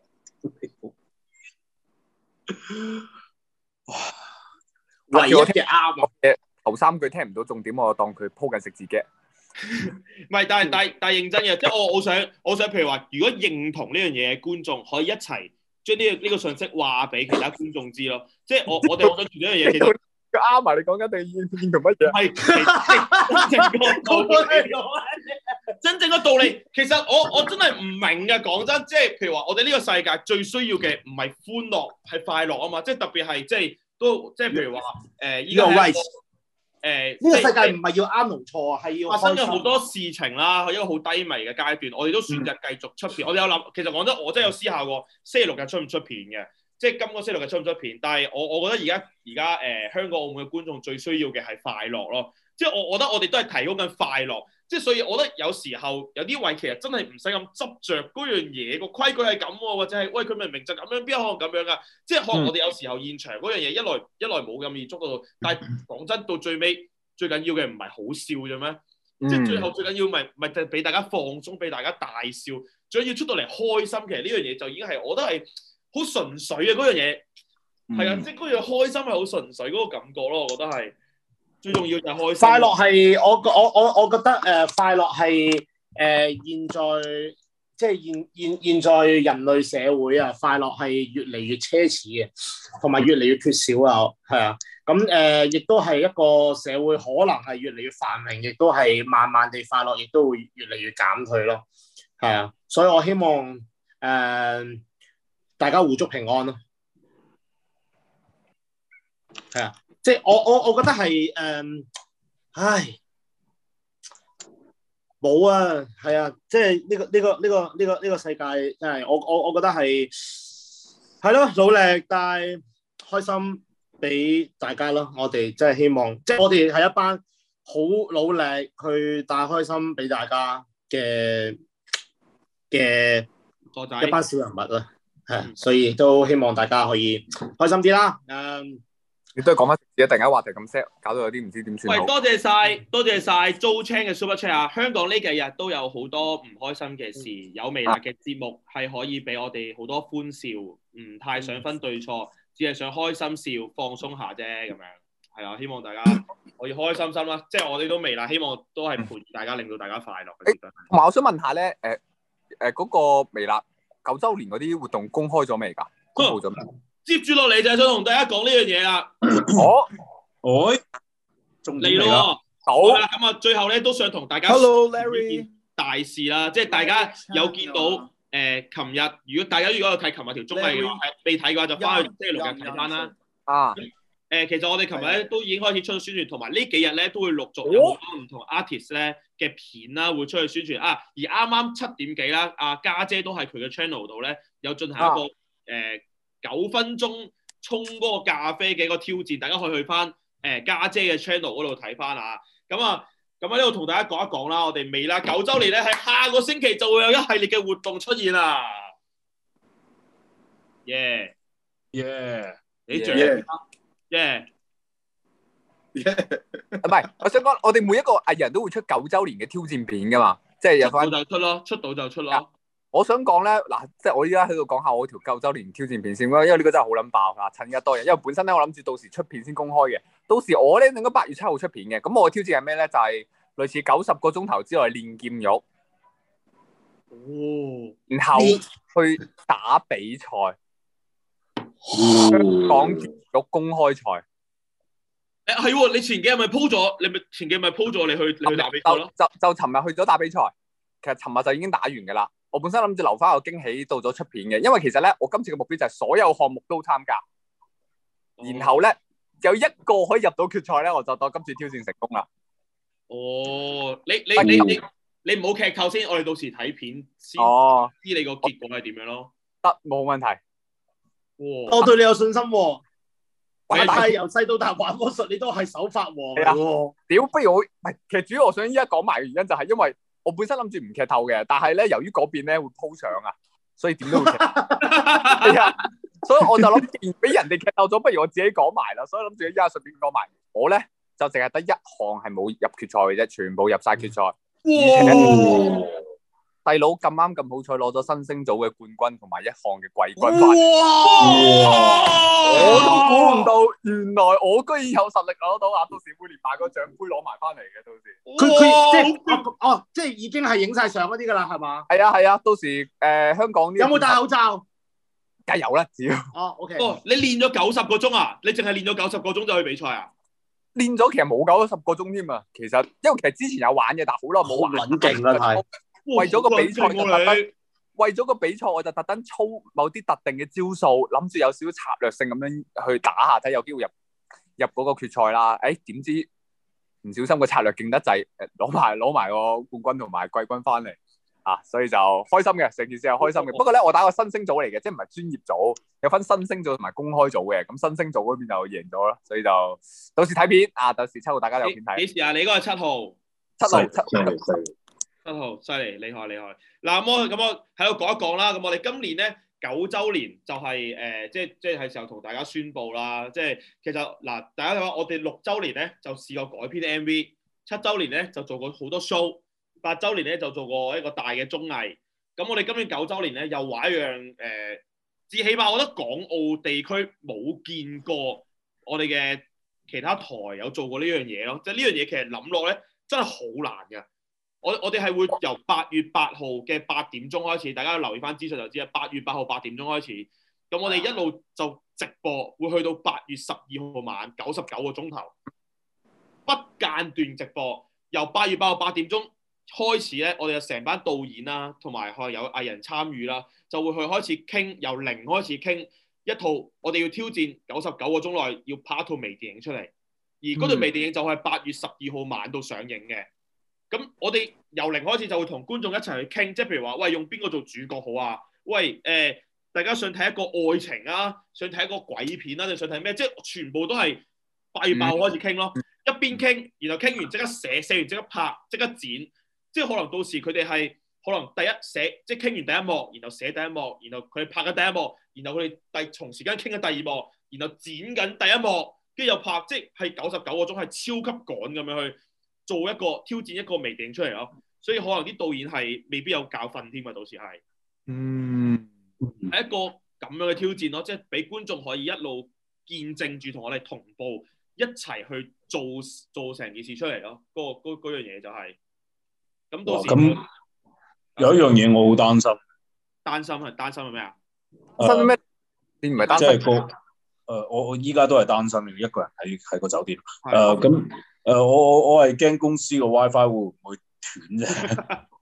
唯一嘅啱啊！
頭三句聽唔到重點，我當佢鋪緊食字嘅。
唔係，但係但係但係認真嘅，即係我我想我想譬如話，如果認同呢樣嘢嘅觀眾，可以一齊將呢個呢個信息話俾其他觀眾知咯。即係我我哋我想做呢樣嘢，其實
啱埋你講緊定認認同乜嘢？
係真正個道理，真正個道理。其實我我真係唔明嘅，講真，即係譬如話，我哋呢個世界最需要嘅唔係歡樂，係快樂啊嘛。即係特別係即係都即係譬如話誒，依家係一個。誒，呢個世界唔係要啱同錯啊，係要發生咗好多事情啦，一個好低迷嘅階段，我哋都選擇繼續出片。嗯、我哋有諗，其實講真，我真係有思考過星期六日出唔出片嘅，即係今個星期六日出唔出片。但係我我覺得而家而家誒香港澳門嘅觀眾最需要嘅係快樂咯，即係我我覺得我哋都係提供緊快樂，即係所以我覺得有時候有啲位其實真係唔使咁執着嗰樣嘢，個規矩係咁喎，或者係喂佢明明就咁樣，邊有可能咁樣噶？即係可能我哋有時候現場嗰樣嘢一來一來冇咁易捉到，但係講真到最尾。最緊要嘅唔係好笑啫咩？嗯、即係最後最緊要咪咪就係俾大家放鬆，俾大家大笑，最緊要出到嚟開心。其實呢樣嘢就已經係我覺得係好純粹嘅嗰樣嘢，係、嗯、啊，即係嗰樣開心係好純粹嗰個感覺咯。我覺得係最重要就係開心。快樂係我我我我覺得誒、呃、快樂係誒、呃、現在即係現現現在人類社會啊，快樂係越嚟越奢侈嘅，同埋越嚟越缺少啊，係啊。咁誒，亦都係一個社會可能係越嚟越繁榮，亦都係慢慢地快樂，亦都會越嚟越減退咯。係啊，所以我希望誒、呃、大家互祝平安咯。係啊，即係我我我覺得係誒、呃，唉，冇啊，係啊，即係呢個呢個呢個呢個呢個世界真係我我我覺得係係咯，努力但係開心。俾大家咯，我哋真係希望，即係我哋係一班好努力去帶開心俾大家嘅嘅一班小人物啦，係、嗯，所以都希望大家可以開心啲啦。誒，
你都係講翻自己突然間話題咁 set，搞到有啲唔知點算好。喂，多謝晒，多謝晒 Joe Chang 嘅 Super Chat 啊！香港呢幾日都有好多唔開心嘅事，嗯、有微辣嘅節目係可以俾我哋好多歡笑，唔太想分對錯。嗯只係想開心笑放鬆下啫，咁樣係啊！希望大家可以開開心心啦，即係我哋都未啦，希望都係陪住大家，令到大家快樂。誒，同埋我想問下咧，誒誒嗰個微辣九週年嗰啲活動公開咗未㗎？公佈咗未？接住落嚟就係想同大家講呢樣嘢啦。哦，哎，仲嚟咯！好啦，咁啊，最後咧都想同大家 Hello Larry 大事啦，即係大家有見到。
誒，琴日如果大家如果有睇琴日條綜藝嘅話，係未睇嘅話就翻去星期六日睇翻啦。
啊，
誒，其實我哋琴日咧都已經開始出咗宣傳，同埋呢幾日咧都會陸續有好多唔同 artist 咧嘅片啦，會出去宣傳啊。而啱啱七點幾啦，阿家姐都喺佢嘅 channel 度咧有進行一個誒九分鐘沖嗰個咖啡嘅一個挑戰，大家可以去翻誒家姐嘅 channel 嗰度睇翻啊。咁啊，咁喺呢度同大家講一講啦，我哋未啦九週年咧喺下個星期就會有一系列嘅活動出現啦。耶
耶！
你最耶！
唔係，我想講，我哋每一個藝人都會出九週年嘅挑戰片噶嘛，即係有翻
出到就出咯，出到就出咯。
我想講咧，嗱，即係我依家喺度講下我條九週年挑戰片先啦，因為呢個真係好撚爆嗱，趁而家多人，因為本身咧我諗住到時出片先公開嘅，到時我咧應該八月七號出片嘅，咁我嘅挑戰係咩咧？就係、是、類似九十個鐘頭之內練劍玉，
哦，
然後去打比賽，香港劍玉公開賽。
誒係喎，你前幾日咪 po 咗，你咪前幾日咪 po 咗你去你去打比賽咯？
就就尋日去咗打比賽，其實尋日就已經打完㗎啦。我本身諗住留翻個驚喜到咗出片嘅，因為其實咧，我今次嘅目標就係所有項目都參加，然後咧有一個可以入到決賽咧，我就當今次挑戰成功啦。
哦，你你你你你唔好劇透先，我哋到時睇片先
哦，
知你個結果係點樣咯。
得，冇問題。
哇！
我對你有信心喎。
喂
但係由細到大玩魔術，你都係手法王嚟喎。
屌，不如我唔係，其實主要我想依家講埋嘅原因就係因為我本身諗住唔劇透嘅，但係咧由於嗰邊咧會鋪相啊，所以點都會劇透。係啊，所以我就諗，既然俾人哋劇透咗，不如我自己講埋啦。所以諗住依家順便講埋，我咧就淨係得一項係冇入決賽嘅啫，全部入晒決賽。哇！細佬咁啱咁好彩攞咗新星組嘅冠軍同埋一項嘅季軍翻嚟。哇！我都估唔到，原來我居然有實力攞到啊！到時會連埋個獎杯攞埋翻嚟嘅，到時。
佢佢即係哦，即係已經係影晒相嗰啲㗎啦，係嘛？
係啊係啊，到時誒、呃、香港
有冇戴口罩？
梗係有啦，只要。
哦 ，OK。
哦，你練咗九十個鐘啊？你淨係練咗九十個鐘就去比賽啊？
練咗其實冇九十個鐘添啊！其實因為其實之前有玩嘅，但係好耐冇玩。
好撚勁啦，係。
為咗個比賽就特登，
你
為咗個比賽我就特登操某啲特定嘅招數，諗住有少少策略性咁樣去打下，睇有機會入入嗰個決賽啦。誒、欸，點知唔小心個策略勁得滯，誒攞埋攞埋個冠軍同埋季軍翻嚟啊！所以就開心嘅，成件事係開心嘅。不過咧，我打個新星組嚟嘅，即係唔係專業組，有分新星組同埋公開組嘅。咁新星組嗰邊就贏咗啦，所以就到時睇片啊！到時七號大家有片睇。
幾時啊？你嗰個係七號。
七號七。
七號犀利，厲害厲害。嗱，咁我咁我喺度講一講啦。咁我哋今年咧九週年就係、是、誒、呃，即係即係係時候同大家宣佈啦。即係其實嗱，大家睇下我哋六週年咧就試過改編 M V，七週年咧就做過好多 show，八週年咧就做過一個大嘅綜藝。咁我哋今年九週年咧又玩一樣誒，至、呃、起碼我覺得港澳地區冇見過我哋嘅其他台有做過呢樣嘢咯。即係呢樣嘢其實諗落咧真係好難㗎。我我哋係會由八月八號嘅八點鐘開始，大家留意翻資訊就知啦。八月八號八點鐘開始，咁我哋一路就直播，會去到八月十二號晚九十九個鐘頭，不間斷直播。由八月八號八點鐘開始咧，我哋就成班導演啦，同埋可能有藝人參與啦，就會去開始傾，由零開始傾一套我哋要挑戰九十九個鐘內要拍一套微電影出嚟，而嗰套微電影就係八月十二號晚到上映嘅。咁我哋由零開始就會同觀眾一齊去傾，即係譬如話，喂，用邊個做主角好啊？喂，誒、呃，大家想睇一個愛情啊，想睇一個鬼片啊，定想睇咩？即係全部都係八月八號開始傾咯，嗯、一邊傾，然後傾完即刻寫，寫完即刻拍，即刻剪，即係可能到時佢哋係可能第一寫，即係傾完第一幕，然後寫第一幕，然後佢哋拍緊第一幕，然後佢哋第同時間傾緊第二幕，然後剪緊第一幕，跟住又拍，即係九十九個鐘係超級趕咁樣去做一個挑戰一個微電影出嚟咯，所以可能啲導演係未必有教訓添啊，到時係，嗯，係一個咁樣嘅挑戰咯，即係俾觀眾可以一路見證住同我哋同步一齊去做做成件事出嚟咯，嗰嗰嗰樣嘢就係，咁到時
咁有一樣嘢我好擔心，
擔心係擔心係咩啊？
擔心咩？你唔係擔心？
即係個誒，我我依家都係擔心，一個人喺喺個酒店誒咁。誒、呃，我我我係驚公司個 WiFi 會唔會斷啫？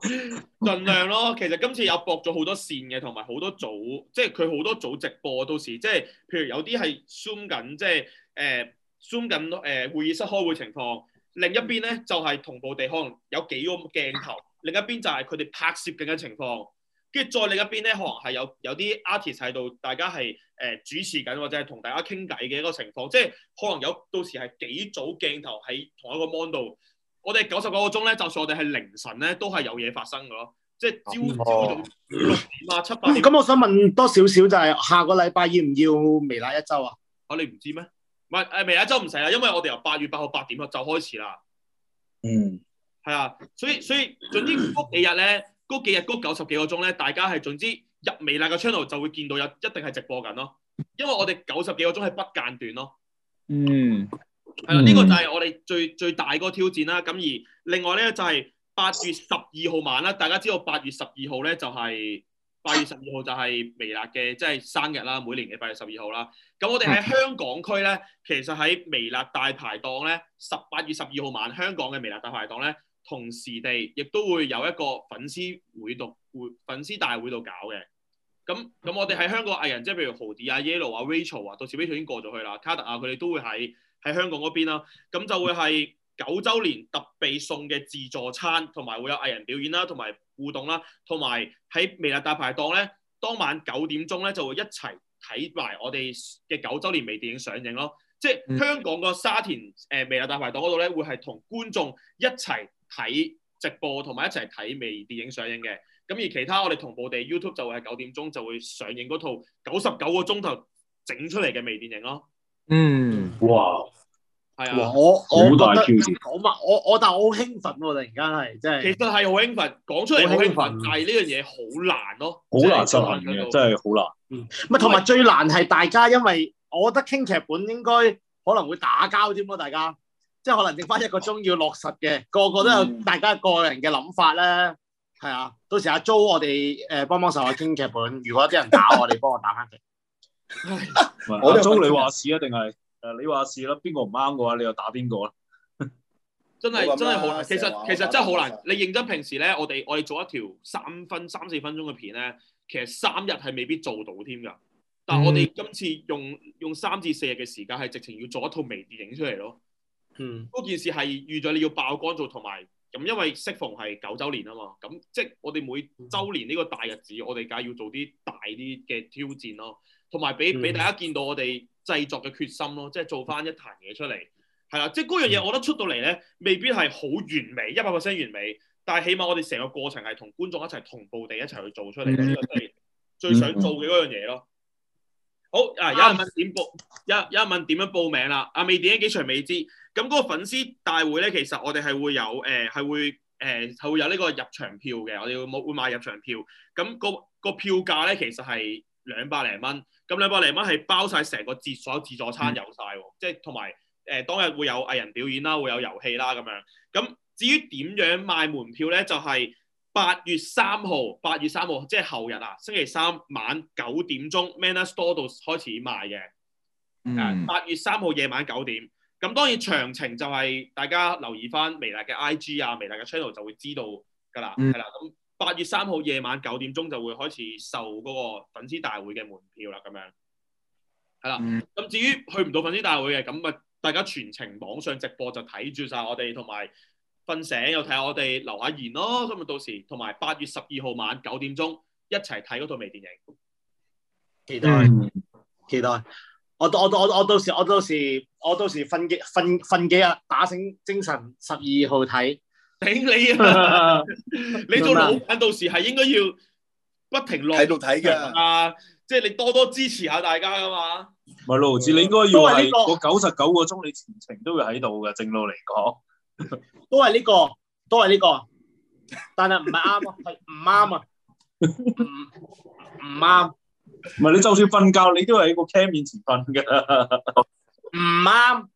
盡量咯。其實今次有駁咗好多線嘅，同埋好多組，即係佢好多組直播到時，即係譬如有啲係 zoom 緊，即係誒 zoom 緊誒會議室開會情況。另一邊咧就係、是、同步地可能有幾個鏡頭，另一邊就係佢哋拍攝緊嘅情況。跟住再另一邊咧，可能係有有啲 artist 喺度，大家係誒、呃、主持緊或者係同大家傾偈嘅一個情況，即係可能有到時係幾組鏡頭喺同一個 mon 度。我哋九十九個鐘咧，就算我哋係凌晨咧，都係有嘢發生嘅咯。即係朝朝早六點啊、七八點。
咁、嗯、我想問多少少就係下個禮拜要唔要微辣一周啊？
啊，你唔知咩？唔係誒，微辣一周唔使啦，因為我哋由八月八號八點就開始啦。
嗯，
係啊，所以所以總之嗰幾日咧。嗰幾日嗰九十幾個鐘咧，大家係總之入微辣嘅 channel 就會見到有一定係直播緊咯，因為我哋九十幾個鐘係不間斷咯。
嗯，
係啦，呢、這個就係我哋最最大嗰個挑戰啦。咁而另外咧就係八月十二號晚啦，大家知道八月十二號咧就係、是、八月十二號就係微辣嘅即係生日啦，每年嘅八月十二號啦。咁我哋喺香港區咧，其實喺微辣大排檔咧，十八月十二號晚香港嘅微辣大排檔咧。同時地，亦都會有一個粉絲會度會粉絲大會度搞嘅。咁咁，我哋喺香港藝人，即係譬如豪迪啊、Yellow 啊、Rachel 啊，到時 Rachel 已經過咗去啦，卡特啊，佢哋都會喺喺香港嗰邊啦。咁就會係九週年特備送嘅自助餐，同埋會有藝人表演啦，同埋互動啦，同埋喺微辣大排檔咧，當晚九點鐘咧就會一齊睇埋我哋嘅九週年微電影上映咯。即係香港個沙田誒微辣大排檔嗰度咧，會係同觀眾一齊睇直播同埋一齊睇微電影上映嘅，咁而其他我哋同步地 YouTube 就會係九點鐘就會上映嗰套九十九個鐘頭整出嚟嘅微電影咯。
嗯，
哇，
係啊，我我
好大挑戰。
我我我但係我好興奮喎，突然間係真係。
其實係好興奮，講出嚟好興奮，但係呢樣嘢好難咯，
好難執行嘅，真係好難。
嗯，唔係同埋最難係大家，因為我覺得傾劇本應該可能會打交添咯，大家。即係可能剩翻一個鐘要落實嘅，個個都有大家個人嘅諗法咧，係啊。到時阿 Jo 我哋誒幫幫手去傾劇本，如果有啲人打我哋，幫我打翻佢。
阿 Jo 你話事啊，定係誒你話事啦？邊個唔啱嘅話，你又打邊個啦？
真係真係好難，其實其實真係好難。你認真平時咧，我哋我哋做一條三分三四分鐘嘅片咧，其實三日係未必做到添㗎。但係我哋今次用用三至四日嘅時間，係直情要做一套微電影出嚟咯。
嗯，
嗰件事係預咗你要爆肝做，同埋咁因為適逢係九週年啊嘛，咁即係我哋每週年呢個大日子，我哋梗係要做啲大啲嘅挑戰咯，同埋俾俾大家見到我哋製作嘅決心咯，即係做翻一壇嘢出嚟，係啦，即係嗰樣嘢，我覺得出到嚟咧，未必係好完美，一百 percent 完美，但係起碼我哋成個過程係同觀眾一齊同步地一齊去做出嚟嘅，呢個係最想做嘅嗰樣嘢咯。好啊！有人問點報，有有人問點樣報名啦？啊，微電影幾場未知。咁嗰個粉絲大會咧，其實我哋係會有誒，係、呃、會誒，係、呃、會有呢個入場票嘅。我哋會冇會買入場票。咁、那個個票價咧，其實係兩百零蚊。咁兩百零蚊係包晒成個自所有自助餐有晒喎，即係同埋誒當日會有藝人表演啦，會有遊戲啦咁樣。咁至於點樣賣門票咧，就係、是。八月三號，八月三號即係後日啊，星期三晚九點鐘 Manner Store 度開始賣嘅。誒，八月三號夜晚九點。咁當然詳情就係大家留意翻微辣嘅 I G 啊，微辣嘅 channel 就會知道㗎啦，係啦、嗯。咁八月三號夜晚九點鐘就會開始售嗰個粉絲大會嘅門票啦，咁樣係啦。咁、嗯、至於去唔到粉絲大會嘅，咁啊大家全程網上直播就睇住晒我哋同埋。瞓醒又睇下我哋留下言咯，咁啊到時同埋八月十二號晚九點鐘一齊睇嗰套微電影，
期待、嗯、期待，我我我我到時我到時我到時瞓幾瞓瞓幾日打醒精神十二號睇，
頂你啊！你做老闆到時係應該要不停落
喺度睇㗎
啊！即係你多多支持下大家㗎嘛。
唔係盧志，你應該要係個九十九個鐘，你全程都會喺度嘅。正路嚟講。
都係呢、這個，都係呢、這個，但係唔係啱啊，係唔啱啊，唔唔啱。
唔係你就算瞓覺，你都係喺個 cam 面前瞓嘅，
唔啱。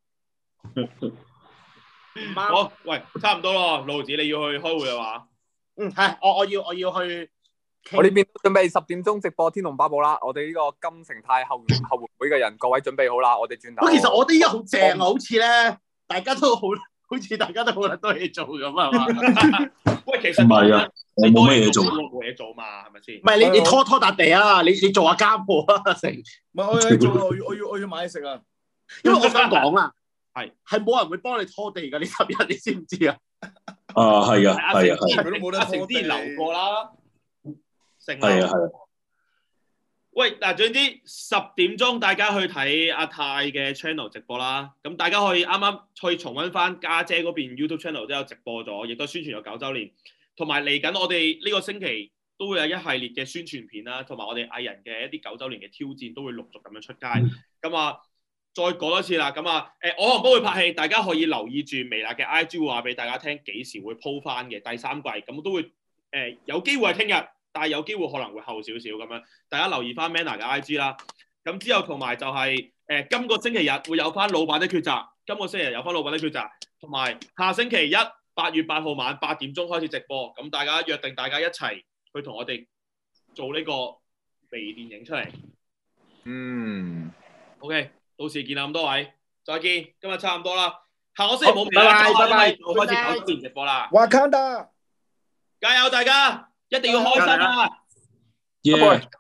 唔啱。
好，喂，差唔多咯，盧子你要去開會啊嘛？
嗯，係，我我要我要去。
我呢邊準備十點鐘直播《天龍八部》啦，我哋呢個金城泰後後援會嘅人，各位準備好啦，我哋轉頭。
其實我啲嘢好正啊，好似咧，大家都好。 好似大家都好多嘢做咁啊嘛。
喂，其實
唔係啊，我冇乜嘢做，
冇嘢做嘛，係咪先？
唔係你你拖拖笪地啊，你你做下家務啊，成。
唔係我要做啊，我要我要我要買嘢食啊。
因為我想講啊，
係
係冇人會幫你拖地㗎，呢十日你知唔知啊？
啊係啊係啊係啊
佢都冇得
阿成
拖地
之前留過啦，成
係啊係啊。
喂，嗱，總之十點鐘大家去睇阿泰嘅 channel 直播啦。咁大家可以啱啱去重溫翻家姐嗰邊 YouTube channel 都有直播咗，亦都宣傳咗九週年。同埋嚟緊我哋呢個星期都會有一系列嘅宣傳片啦，同埋我哋藝人嘅一啲九週年嘅挑戰都會陸續咁樣出街。咁啊，再講多次啦。咁啊，誒我同波會拍戲，大家可以留意住微辣嘅 I G 會話俾大家聽幾時會鋪翻嘅第三季。咁都會誒、呃、有機會係聽日。但係有機會可能會後少少咁樣，大家留意翻 Manner 嘅 I G 啦。咁之後同埋就係、是、誒、呃、今個星期日會有翻老闆的抉擇，今個星期日有翻老闆的抉擇，同埋下星期一八月八號晚八點鐘開始直播。咁大家約定大家一齊去同我哋做呢個微電影出嚟。
嗯
OK， 到時見啦咁多位，再見。今日差唔多啦，下個星期冇微
拜
啦，
拜拜拜，
就開始九周年直播啦。
瓦坎達，
加油大家！一定要開心啊！
耶！